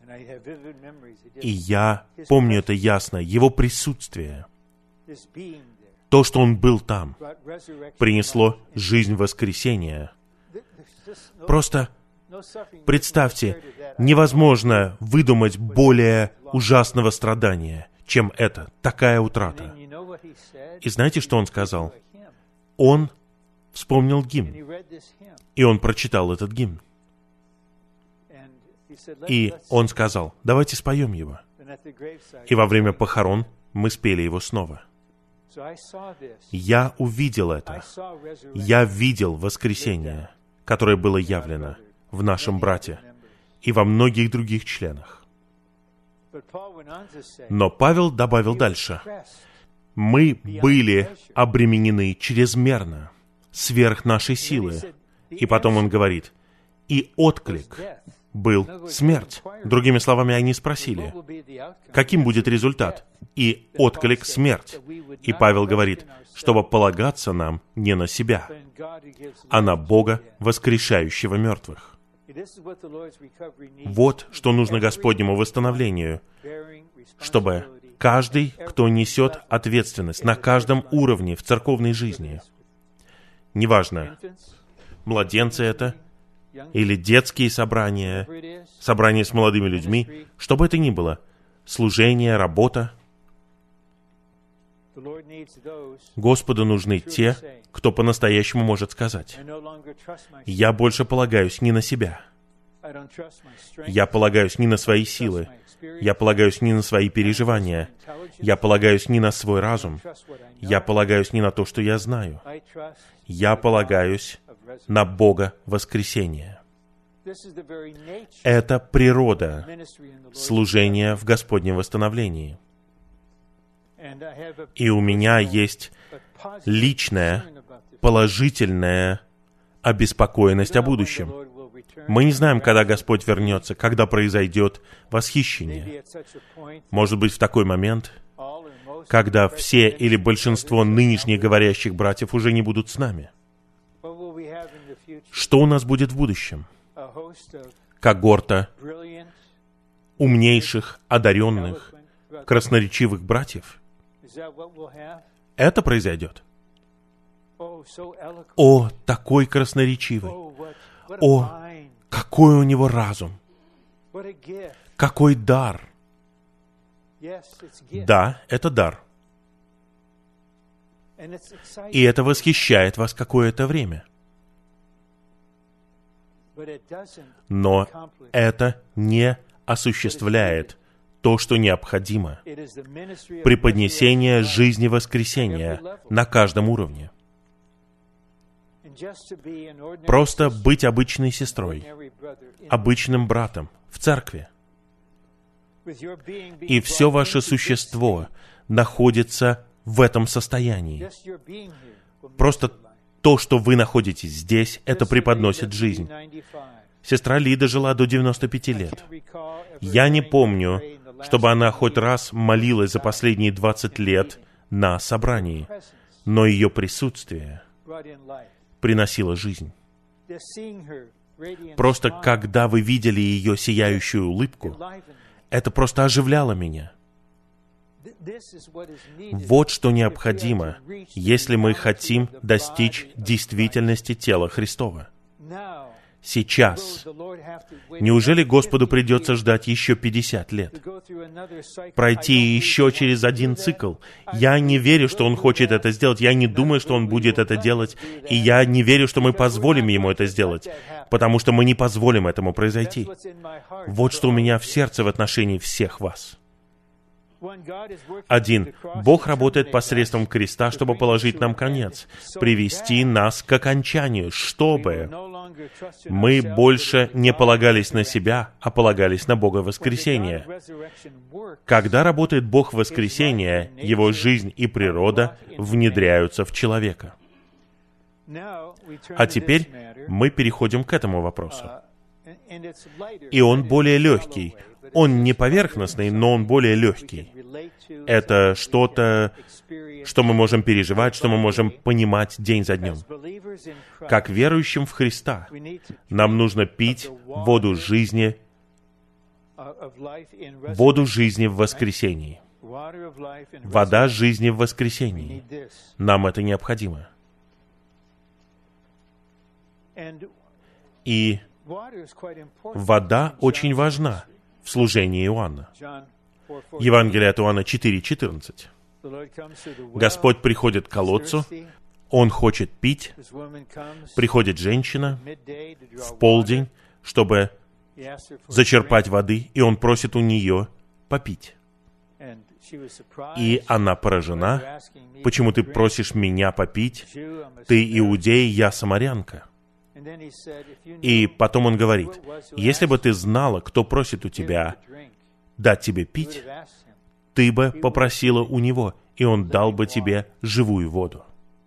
И я помню это ясно, его присутствие, то, что он был там, принесло жизнь воскресения. Просто представьте, невозможно выдумать более ужасного страдания, чем это, такая утрата. И знаете, что он сказал? Он вспомнил гимн, и он прочитал этот гимн. И он сказал: давайте споем его. И во время похорон мы спели его снова. Я увидел это. Я видел воскресение, которое было явлено в нашем брате и во многих других членах. Но Павел добавил дальше: мы были обременены чрезмерно, сверх нашей силы. И потом он говорит: и отклик был смерть. Другими словами, они спросили, каким будет результат? И отклик — смерть. И Павел говорит, чтобы полагаться нам не на себя, а на Бога, воскрешающего мертвых. Вот что нужно Господнему восстановлению, чтобы каждый, кто несет ответственность на каждом уровне в церковной жизни, неважно, младенцы это или детские собрания, собрания с молодыми людьми, что бы это ни было, служение, работа. Господу нужны те, кто по-настоящему может сказать: «Я больше полагаюсь не на себя. Я полагаюсь не на свои силы. Я полагаюсь не на свои переживания. Я полагаюсь не на свой разум. Я полагаюсь не на то, что я знаю. Я полагаюсь на Бога воскресения». Это природа служения в Господнем восстановлении. И у меня есть личная, положительная обеспокоенность о будущем. Мы не знаем, когда Господь вернется, когда произойдет восхищение. Может быть, в такой момент, когда все или большинство нынешних говорящих братьев уже не будут с нами. Что у нас будет в будущем? Когорта умнейших, одаренных, красноречивых братьев. Это произойдет. О, такой красноречивый! О, какой у него разум! Какой дар! Да, это дар. И это восхищает вас какое-то время. Но это не осуществляет то, что необходимо. Преподнесение жизни воскресения на каждом уровне. Просто быть обычной сестрой, обычным братом в церкви. И все ваше существо находится в этом состоянии. Просто то, что вы находитесь здесь, это преподносит жизнь. Сестра Лида жила до девяноста пяти лет. Я не помню, чтобы она хоть раз молилась за последние двадцать лет на собрании, но ее присутствие приносило жизнь. Просто когда вы видели ее сияющую улыбку, это просто оживляло меня. Вот что необходимо, если мы хотим достичь действительности тела Христова. Сейчас. Неужели Господу придется ждать еще пятьдесят лет? Пройти еще через один цикл? Я не верю, что Он хочет это сделать. Я не думаю, что Он будет это делать. И я не верю, что мы позволим Ему это сделать. Потому что мы не позволим этому произойти. Вот что у меня в сердце в отношении всех вас. Один. Бог работает посредством креста, чтобы положить нам конец, привести нас к окончанию, чтобы мы больше не полагались на себя, а полагались на Бога воскресения. Когда работает Бог воскресения, Его жизнь и природа внедряются в человека. А теперь мы переходим к этому вопросу. И он более легкий. Он не поверхностный, но он более легкий. Это что-то, что мы можем переживать, что мы можем понимать день за днем. Как верующим в Христа, нам нужно пить воду жизни, воду жизни в воскресении. Вода жизни в воскресении. Нам это необходимо. И вода очень важна в служении Иоанна. Евангелие от Иоанна четыре четырнадцать. Господь приходит к колодцу, Он хочет пить. Приходит женщина в полдень, чтобы зачерпать воды, и Он просит у нее попить. И она поражена. Почему ты просишь меня попить? Ты иудей, я самарянка. И потом он говорит: если бы ты знала, кто просит у тебя дать тебе пить, ты бы попросила у него, и он дал бы тебе живую воду.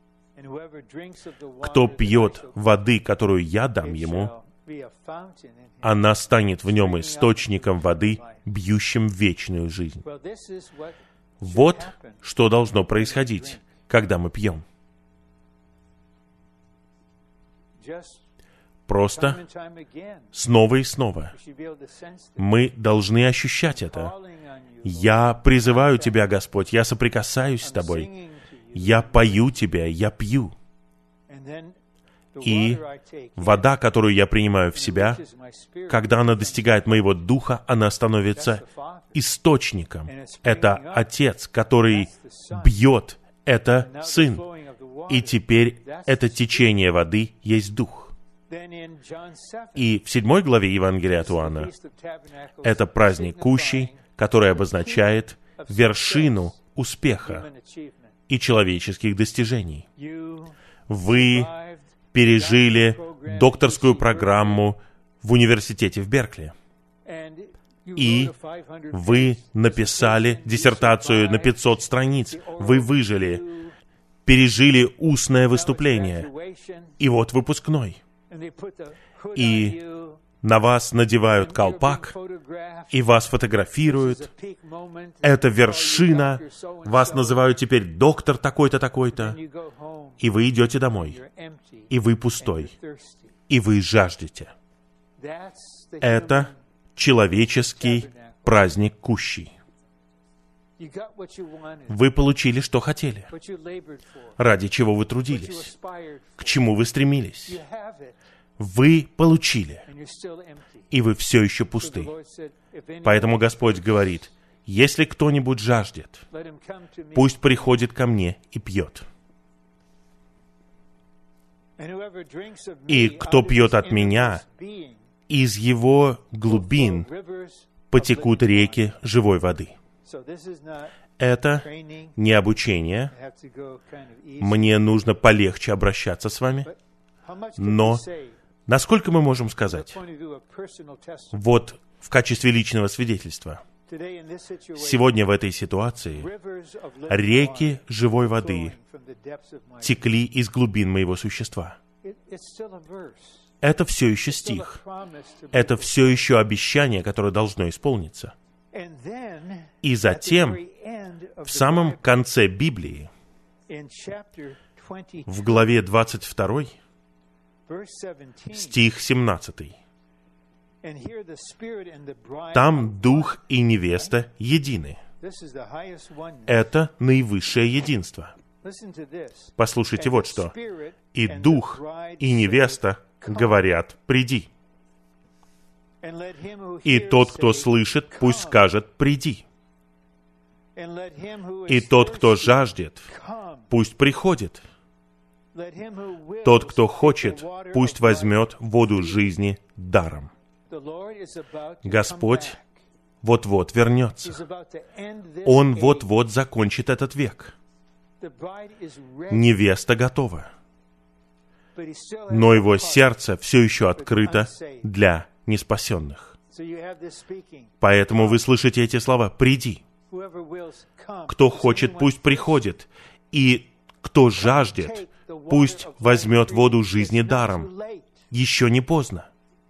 Кто пьет воды, которую я дам ему, она станет в нем источником воды, бьющим в вечную жизнь. Вот что должно происходить, когда мы пьем. Просто снова и снова мы должны ощущать это. Я призываю Тебя, Господь, я соприкасаюсь с Тобой, я пою Тебя, я пью. И вода, которую я принимаю в себя, когда она достигает моего духа, она становится источником. Это Отец, который бьет, это Сын. И теперь это течение воды есть Дух. И в седьмой главе Евангелия от Иоанна это праздник Кущей, который обозначает вершину успеха и человеческих достижений. Вы пережили докторскую программу в университете в Беркли. И вы написали диссертацию на пятьсот страниц. Вы выжили, пережили устное выступление. И вот выпускной. И на вас надевают колпак, и вас фотографируют. Это вершина. Вас называют теперь доктор такой-то, такой-то. И вы идете домой. И вы пустой. И вы жаждете. Это человеческий праздник Кущей. Вы получили, что хотели. Ради чего вы трудились. К чему вы стремились. Вы получили. И вы все еще пусты. Поэтому Господь говорит, если кто-нибудь жаждет, пусть приходит ко мне и пьет. И кто пьет от меня, из его глубин потекут реки живой воды. Это не обучение. Мне нужно полегче обращаться с вами. Но насколько мы можем сказать? Вот в качестве личного свидетельства. Сегодня в этой ситуации реки живой воды текли из глубин моего существа. Это все еще стих. Это все еще обещание, которое должно исполниться. И затем, в самом конце Библии, в главе двадцать два, стих семнадцатый, там Дух и невеста едины. Это наивысшее единство. Послушайте вот что. И Дух, и невеста говорят, приди. И тот, кто слышит, пусть скажет, приди. И тот, кто жаждет, пусть приходит. Тот, кто хочет, пусть возьмет воду жизни даром. Господь вот-вот вернется. Он вот-вот закончит этот век. Невеста готова. Но его сердце все еще открыто для неспасенных. Поэтому вы слышите эти слова «приди». Кто хочет, пусть приходит. И кто жаждет, пусть возьмет воду жизни даром. Еще не поздно.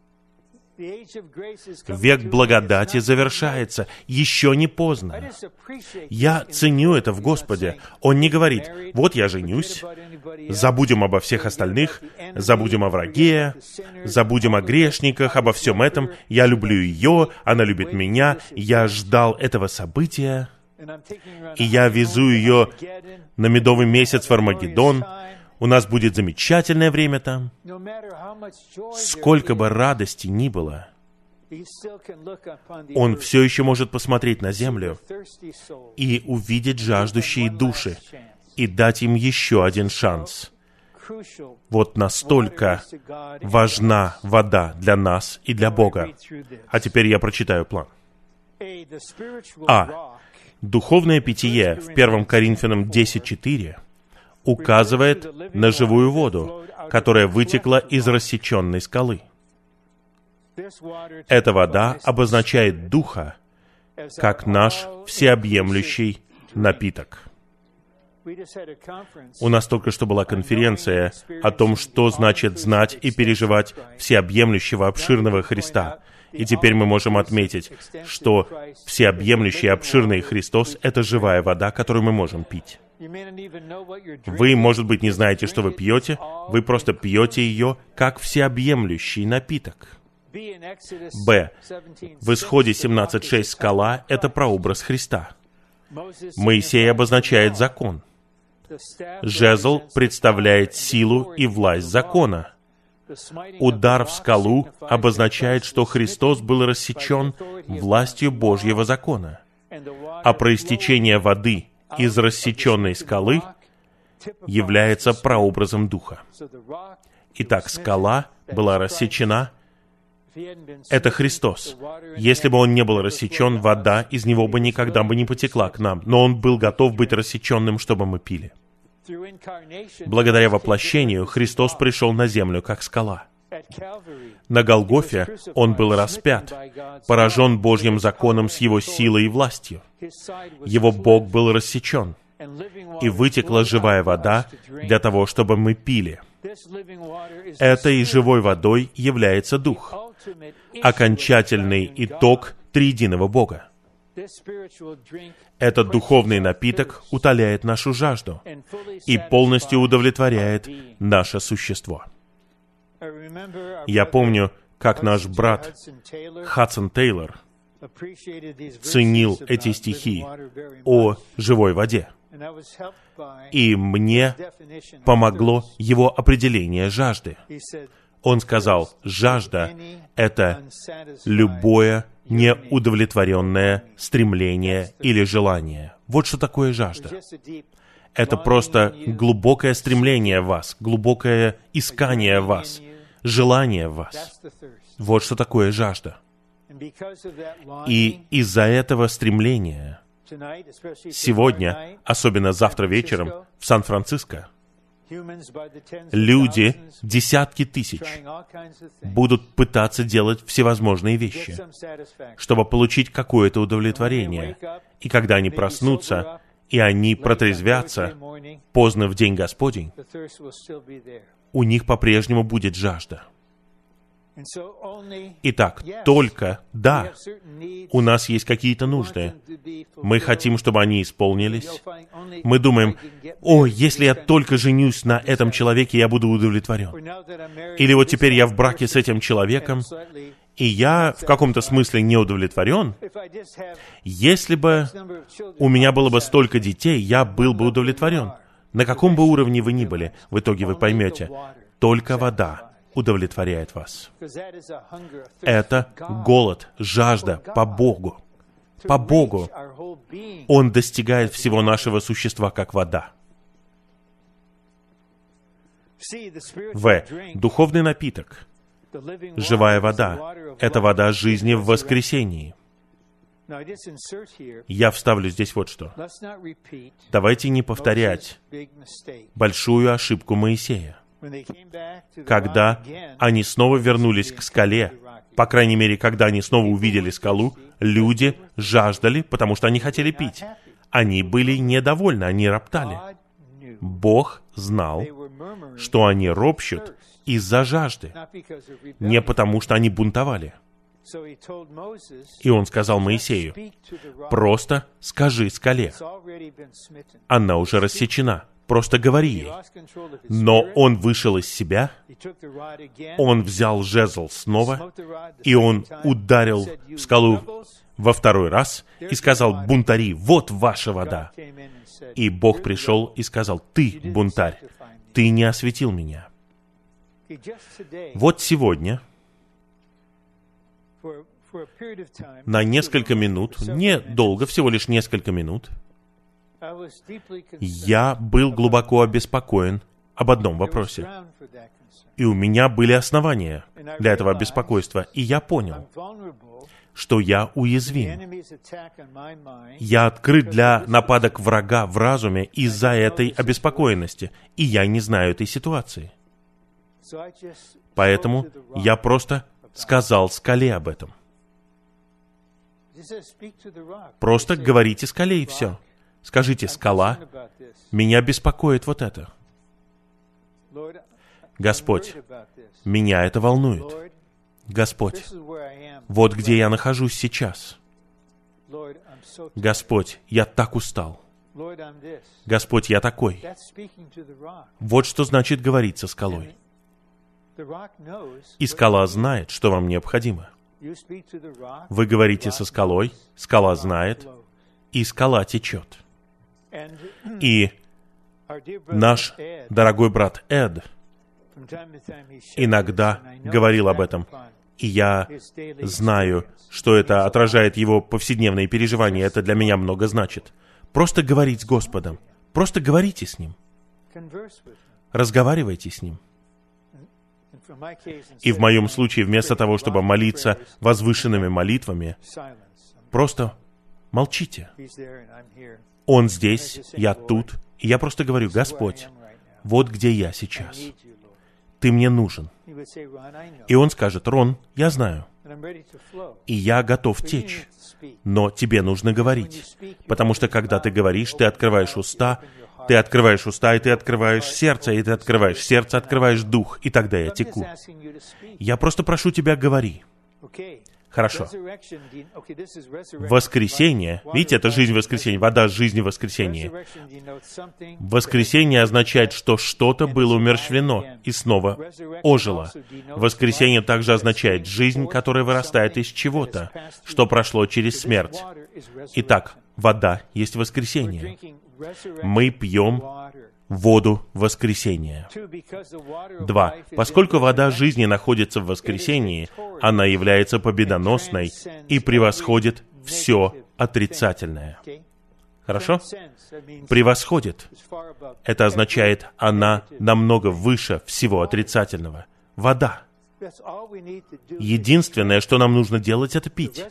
Век благодати завершается. Еще не поздно. Я ценю это в Господе. Он не говорит, вот я женюсь, забудем обо всех остальных, забудем о враге, забудем о грешниках, обо всем этом. Я люблю ее, она любит меня. Я ждал этого события, и я везу ее на медовый месяц в Армагеддон. У нас будет замечательное время там. Сколько бы радости ни было, он все еще может посмотреть на землю и увидеть жаждущие души и дать им еще один шанс. Вот настолько важна вода для нас и для Бога. А теперь я прочитаю план. А. Духовное питье в первом Коринфянам десять четыре указывает на живую воду, которая вытекла из рассеченной скалы. Эта вода обозначает Духа, как наш всеобъемлющий напиток. У нас только что была конференция о том, что значит знать и переживать всеобъемлющего обширного Христа. И теперь мы можем отметить, что всеобъемлющий обширный Христос — это живая вода, которую мы можем пить. Вы, может быть, не знаете, что вы пьете, вы просто пьете ее как всеобъемлющий напиток. Б. В Исходе семнадцать шесть скала — это прообраз Христа. Моисей обозначает закон. Жезл представляет силу и власть закона. Удар в скалу обозначает, что Христос был рассечен властью Божьего закона, а проистечение воды из рассеченной скалы является прообразом Духа. Итак, скала была рассечена. Это Христос. Если бы Он не был рассечен, вода из Него бы никогда бы не потекла к нам, но Он был готов быть рассеченным, чтобы мы пили. Благодаря воплощению Христос пришел на землю, как скала. На Голгофе Он был распят, поражен Божьим законом с Его силой и властью. Его Бог был рассечен, и вытекла живая вода для того, чтобы мы пили. Этой живой водой является Дух, окончательный итог триединого Бога. Этот духовный напиток утоляет нашу жажду и полностью удовлетворяет наше существо. Я помню, как наш брат Хадсон Тейлор ценил эти стихи о живой воде. И мне помогло его определение жажды. Он сказал, жажда — это любое неудовлетворенное стремление или желание. Вот что такое жажда. Это просто глубокое стремление в вас, глубокое искание в вас, желание в вас. Вот что такое жажда. И из-за этого стремления сегодня, особенно завтра вечером, в Сан-Франциско, люди, десятки тысяч, будут пытаться делать всевозможные вещи, чтобы получить какое-то удовлетворение. И когда они проснутся, и они протрезвятся поздно в день Господень, у них по-прежнему будет жажда. Итак, только, да, у нас есть какие-то нужды. Мы хотим, чтобы они исполнились. Мы думаем, о, если я только женюсь на этом человеке, я буду удовлетворен. Или вот теперь я в браке с этим человеком, и я в каком-то смысле не удовлетворен. Если бы у меня было бы столько детей, я был бы удовлетворен. На каком бы уровне вы ни были, в итоге вы поймете, только вода удовлетворяет вас. Это голод, жажда по Богу. По Богу. Он достигает всего нашего существа, как вода. В. Духовный напиток. Живая вода. Это вода жизни в воскресении. Я вставлю здесь вот что. Давайте не повторять большую ошибку Моисея. Когда они снова вернулись к скале, по крайней мере, когда они снова увидели скалу, люди жаждали, потому что они хотели пить. Они были недовольны, они роптали. Бог знал, что они ропщут из-за жажды, не потому что они бунтовали. И Он сказал Моисею, просто скажи скале, она уже рассечена. Просто говори ей. Но он вышел из себя, он взял жезл снова, и он ударил в скалу во второй раз и сказал, бунтари, вот ваша вода. И Бог пришел и сказал, ты, бунтарь, ты не осветил меня. Вот сегодня, на несколько минут, не долго, всего лишь несколько минут, я был глубоко обеспокоен об одном вопросе. И у меня были основания для этого беспокойства. И я понял, что я уязвим. Я открыт для нападок врага в разуме из-за этой обеспокоенности. И я не знаю этой ситуации. Поэтому я просто сказал скале об этом. Просто говорите скале и все. Скажите, скала, меня беспокоит вот это. Господь, меня это волнует. Господь, вот где я нахожусь сейчас. Господь, я так устал. Господь, я такой. Вот что значит говорить со скалой. И скала знает, что вам необходимо. Вы говорите со скалой, скала знает, и скала течет. И Наш дорогой брат Эд иногда говорил об этом, и я знаю, что это отражает его повседневные переживания. Это для меня много значит. Просто говорить с Господом. Просто говорите с Ним. Разговаривайте с Ним. И в моем случае, вместо того, чтобы молиться возвышенными молитвами, просто молчите. Он здесь, я тут, и я просто говорю: Господь, вот где я сейчас. Ты мне нужен. И Он скажет: Рон, я знаю, и я готов течь, но тебе нужно говорить, потому что когда ты говоришь, ты открываешь уста, ты открываешь уста, и ты открываешь сердце, и ты открываешь сердце, открываешь дух, и тогда я теку. Я просто прошу тебя, говори. Хорошо. Воскресение, видите, это жизнь воскресения, вода жизни воскресения. Воскресение означает, что что-то было умерщвлено и снова ожило. Воскресение также означает жизнь, которая вырастает из чего-то, что прошло через смерть. Итак, вода есть воскресение. Мы пьем воду воскресения. Два. Поскольку вода жизни находится в воскресении, она является победоносной и превосходит все отрицательное. Хорошо? Превосходит. Это означает, она намного выше всего отрицательного. Вода. Единственное, что нам нужно делать, это пить.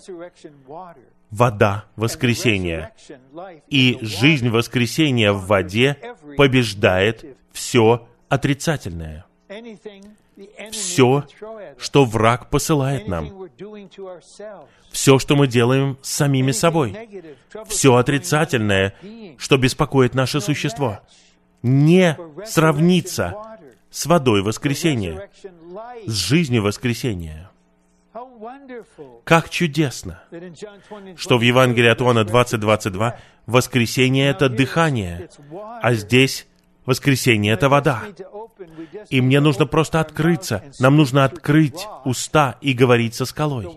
Вода воскресения. И жизнь воскресения в воде побеждает все отрицательное. Все, что враг посылает нам. Все, что мы делаем с самими собой. Все отрицательное, что беспокоит наше существо. Не сравнится с водой воскресения, с жизнью воскресения. Как чудесно, что в Евангелии от Иоанна двадцать двадцать два воскресение — это дыхание, а здесь воскресение — это вода. И мне нужно просто открыться, нам нужно открыть уста и говорить со скалой.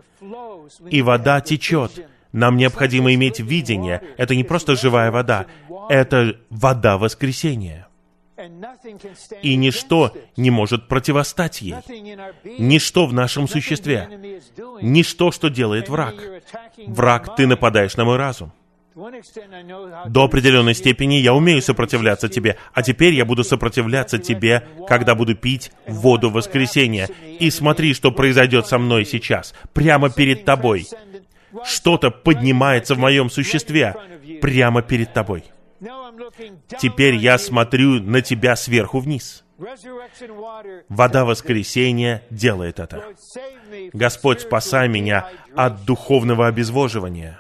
И вода течет. Нам необходимо иметь видение. Это не просто живая вода, это вода воскресения. И ничто не может противостать ей. Ничто в нашем существе. Ничто, что делает враг. Враг, ты нападаешь на мой разум. До определенной степени я умею сопротивляться тебе, а теперь я буду сопротивляться тебе, когда буду пить воду воскресения. И смотри, что произойдет со мной сейчас, прямо перед тобой. Что-то поднимается в моем существе, прямо перед тобой. Теперь я смотрю на тебя сверху вниз. Вода воскресения делает это. Господь, спасай меня от духовного обезвоживания.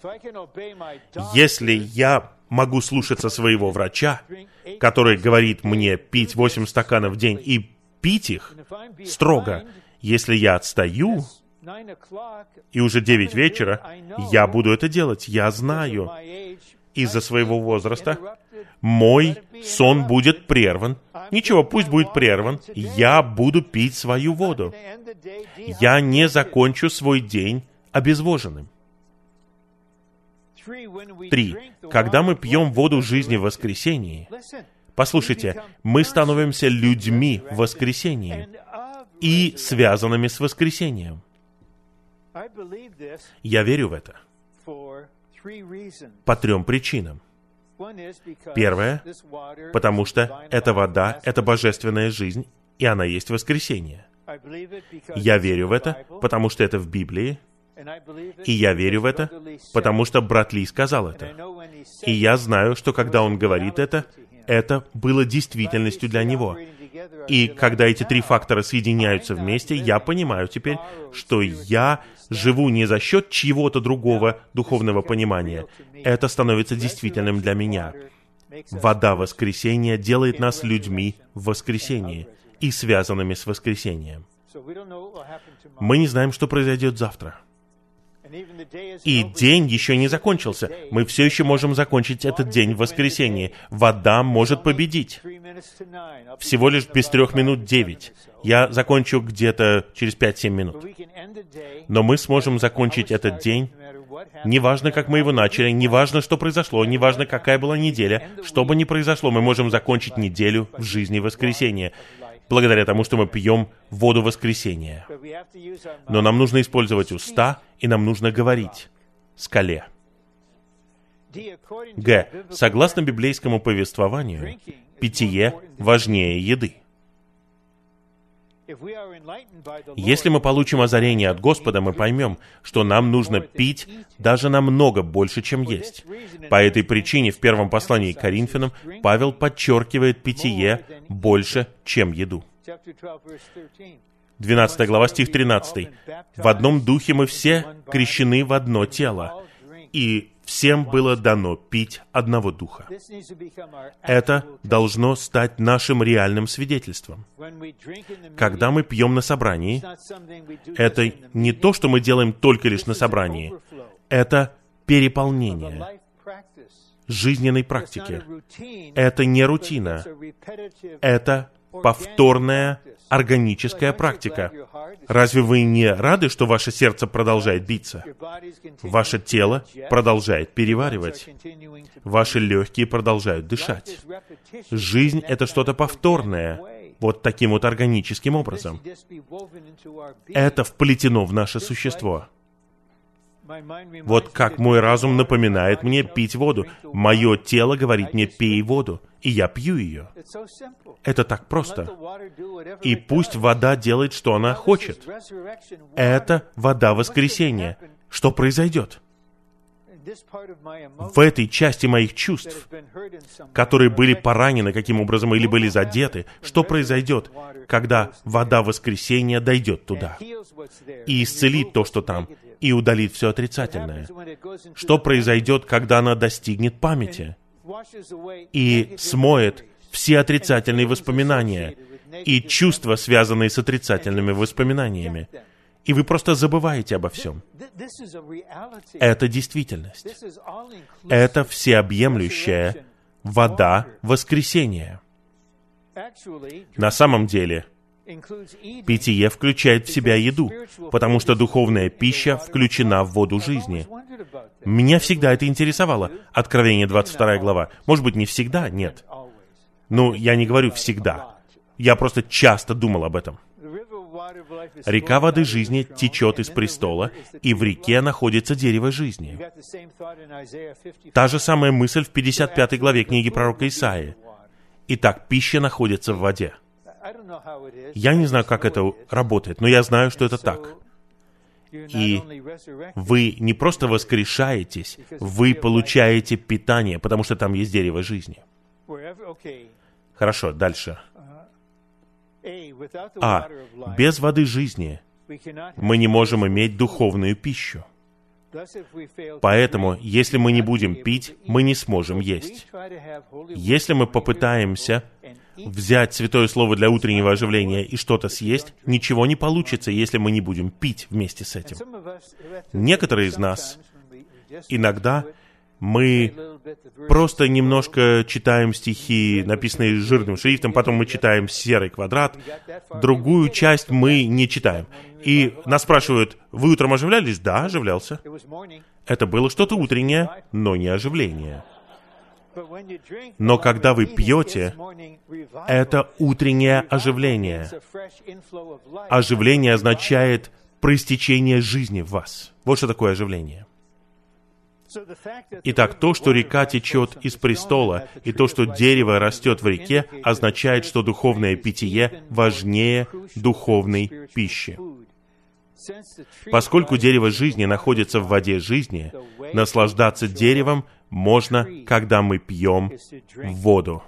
Если я могу слушаться своего врача, который говорит мне пить восемь стаканов в день и пить их строго, если я отстаю, и уже девять вечера, я буду это делать. Я знаю, из-за своего возраста мой сон будет прерван. Ничего, пусть будет прерван. Я буду пить свою воду. Я не закончу свой день обезвоженным. Три. Когда мы пьем воду жизни в воскресении, послушайте, мы становимся людьми в воскресении и связанными с воскресением. Я верю в это по трем причинам. Первое, потому что эта вода — это божественная жизнь, и она есть воскресение. Я верю в это, потому что это в Библии, и я верю в это, потому что брат Ли сказал это. И я знаю, что когда он говорит это, это было действительностью для него. И когда эти три фактора соединяются вместе, я понимаю теперь, что я живу не за счет чьего-то другого духовного понимания. Это становится действительным для меня. Вода воскресения делает нас людьми в воскресении и связанными с воскресением. Мы не знаем, что произойдет завтра. И день еще не закончился. Мы все еще можем закончить этот день в воскресенье. Вода может победить. Всего лишь без трех минут девять. Я закончу где-то через пять-семь минут. Но мы сможем закончить этот день, неважно, как мы его начали, неважно, что произошло, неважно, какая была неделя, что бы ни произошло, мы можем закончить неделю в жизни воскресенья, благодаря тому, что мы пьем воду воскресения. Но нам нужно использовать уста, и нам нужно говорить скале. Г. Согласно библейскому повествованию, питье важнее еды. Если мы получим озарение от Господа, мы поймем, что нам нужно пить даже намного больше, чем есть. По этой причине в первом послании к Коринфянам Павел подчеркивает питье больше, чем еду. двенадцатая глава, стих тринадцатый. «В одном духе мы все крещены в одно тело, и всем было дано пить одного духа». Это должно стать нашим реальным свидетельством. Когда мы пьем на собрании, это не то, что мы делаем только лишь на собрании. Это переполнение жизненной практики. Это не рутина. Это повторная органическая практика. Разве вы не рады, что ваше сердце продолжает биться? Ваше тело продолжает переваривать. Ваши легкие продолжают дышать. Жизнь — это что-то повторное, вот таким вот органическим образом. Это вплетено в наше существо. Вот как мой разум напоминает мне пить воду. Мое тело говорит мне: пей воду, и я пью ее. Это так просто. И пусть вода делает, что она хочет. Это вода воскресения. Что произойдет? В этой части моих чувств, которые были поранены каким образом или были задеты, что произойдет, когда вода воскресения дойдет туда и исцелит то, что там, и удалит все отрицательное? Что произойдет, когда она достигнет памяти и смоет все отрицательные воспоминания и чувства, связанные с отрицательными воспоминаниями? И вы просто забываете обо всем. Это действительность. Это всеобъемлющая вода воскресения. На самом деле, питье включает в себя еду, потому что духовная пища включена в воду жизни. Меня всегда это интересовало. Откровение двадцать вторая глава. Может быть, не всегда, нет. Ну, я не говорю всегда. Я просто часто думал об этом. Река воды жизни течет из престола, и в реке находится дерево жизни. Та же самая мысль в пятьдесят пятой главе книги пророка Исаии. Итак, пища находится в воде. Я не знаю, как это работает, но я знаю, что это так. И вы не просто воскрешаетесь, вы получаете питание, потому что там есть дерево жизни. Хорошо, дальше. А. Без воды жизни мы не можем иметь духовную пищу. Поэтому, если мы не будем пить, мы не сможем есть. Если мы попытаемся взять Святое Слово для утреннего оживления и что-то съесть, ничего не получится, если мы не будем пить вместе с этим. Некоторые из нас, иногда мы просто немножко читаем стихи, написанные жирным шрифтом, потом мы читаем серый квадрат, другую часть мы не читаем. И нас спрашивают: вы утром оживлялись? Да, оживлялся. Это было что-то утреннее, но не оживление. Но когда вы пьете, это утреннее оживление. Оживление означает проистечение жизни в вас. Вот что такое оживление. Итак, то, что река течет из престола, и то, что дерево растет в реке, означает, что духовное питье важнее духовной пищи. Поскольку дерево жизни находится в воде жизни, наслаждаться деревом можно, когда мы пьем воду.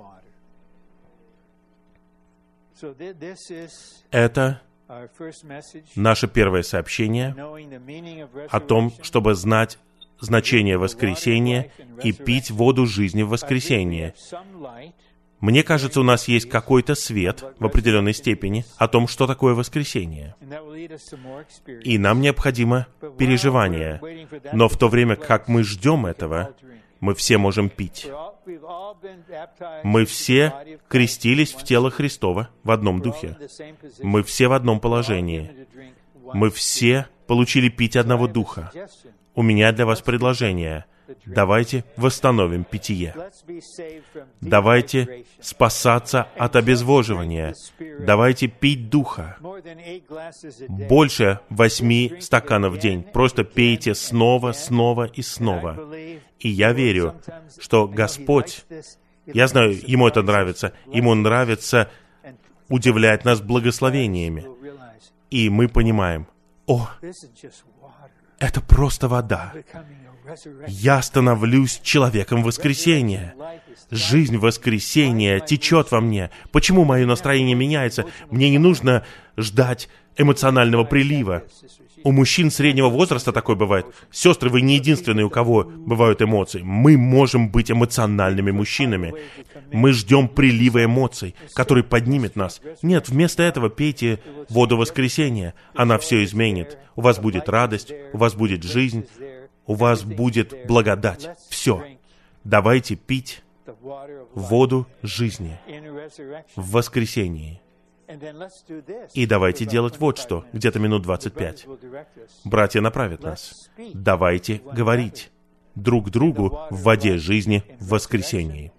Это наше первое сообщение о том, чтобы знать значение воскресения и пить воду жизни в воскресенье. Мне кажется, у нас есть какой-то свет в определенной степени о том, что такое воскресение. И нам необходимо переживание. Но в то время, как мы ждем этого, мы все можем пить. Мы все крестились в тело Христова в одном духе. Мы все в одном положении. Мы все получили пить одного духа. У меня для вас предложение. Давайте восстановим питье. Давайте спасаться от обезвоживания. Давайте пить духа. Больше восьми стаканов в день. Просто пейте снова, снова и снова. И я верю, что Господь, я знаю, Ему это нравится, Ему нравится удивлять нас благословениями. И мы понимаем, о, это просто вода. Я становлюсь человеком воскресения. Жизнь воскресения течет во мне. Почему мое настроение меняется? Мне не нужно ждать эмоционального прилива. У мужчин среднего возраста такое бывает. Сестры, вы не единственные, у кого бывают эмоции. Мы можем быть эмоциональными мужчинами. Мы ждем прилива эмоций, который поднимет нас. Нет, вместо этого пейте воду воскресения. Она все изменит. У вас будет радость, у вас будет жизнь, у вас будет благодать. Все. Давайте пить воду жизни в воскресении. И давайте делать вот что, где-то минут двадцать пять. Братья направят нас. Давайте говорить друг другу в воде жизни в воскресении.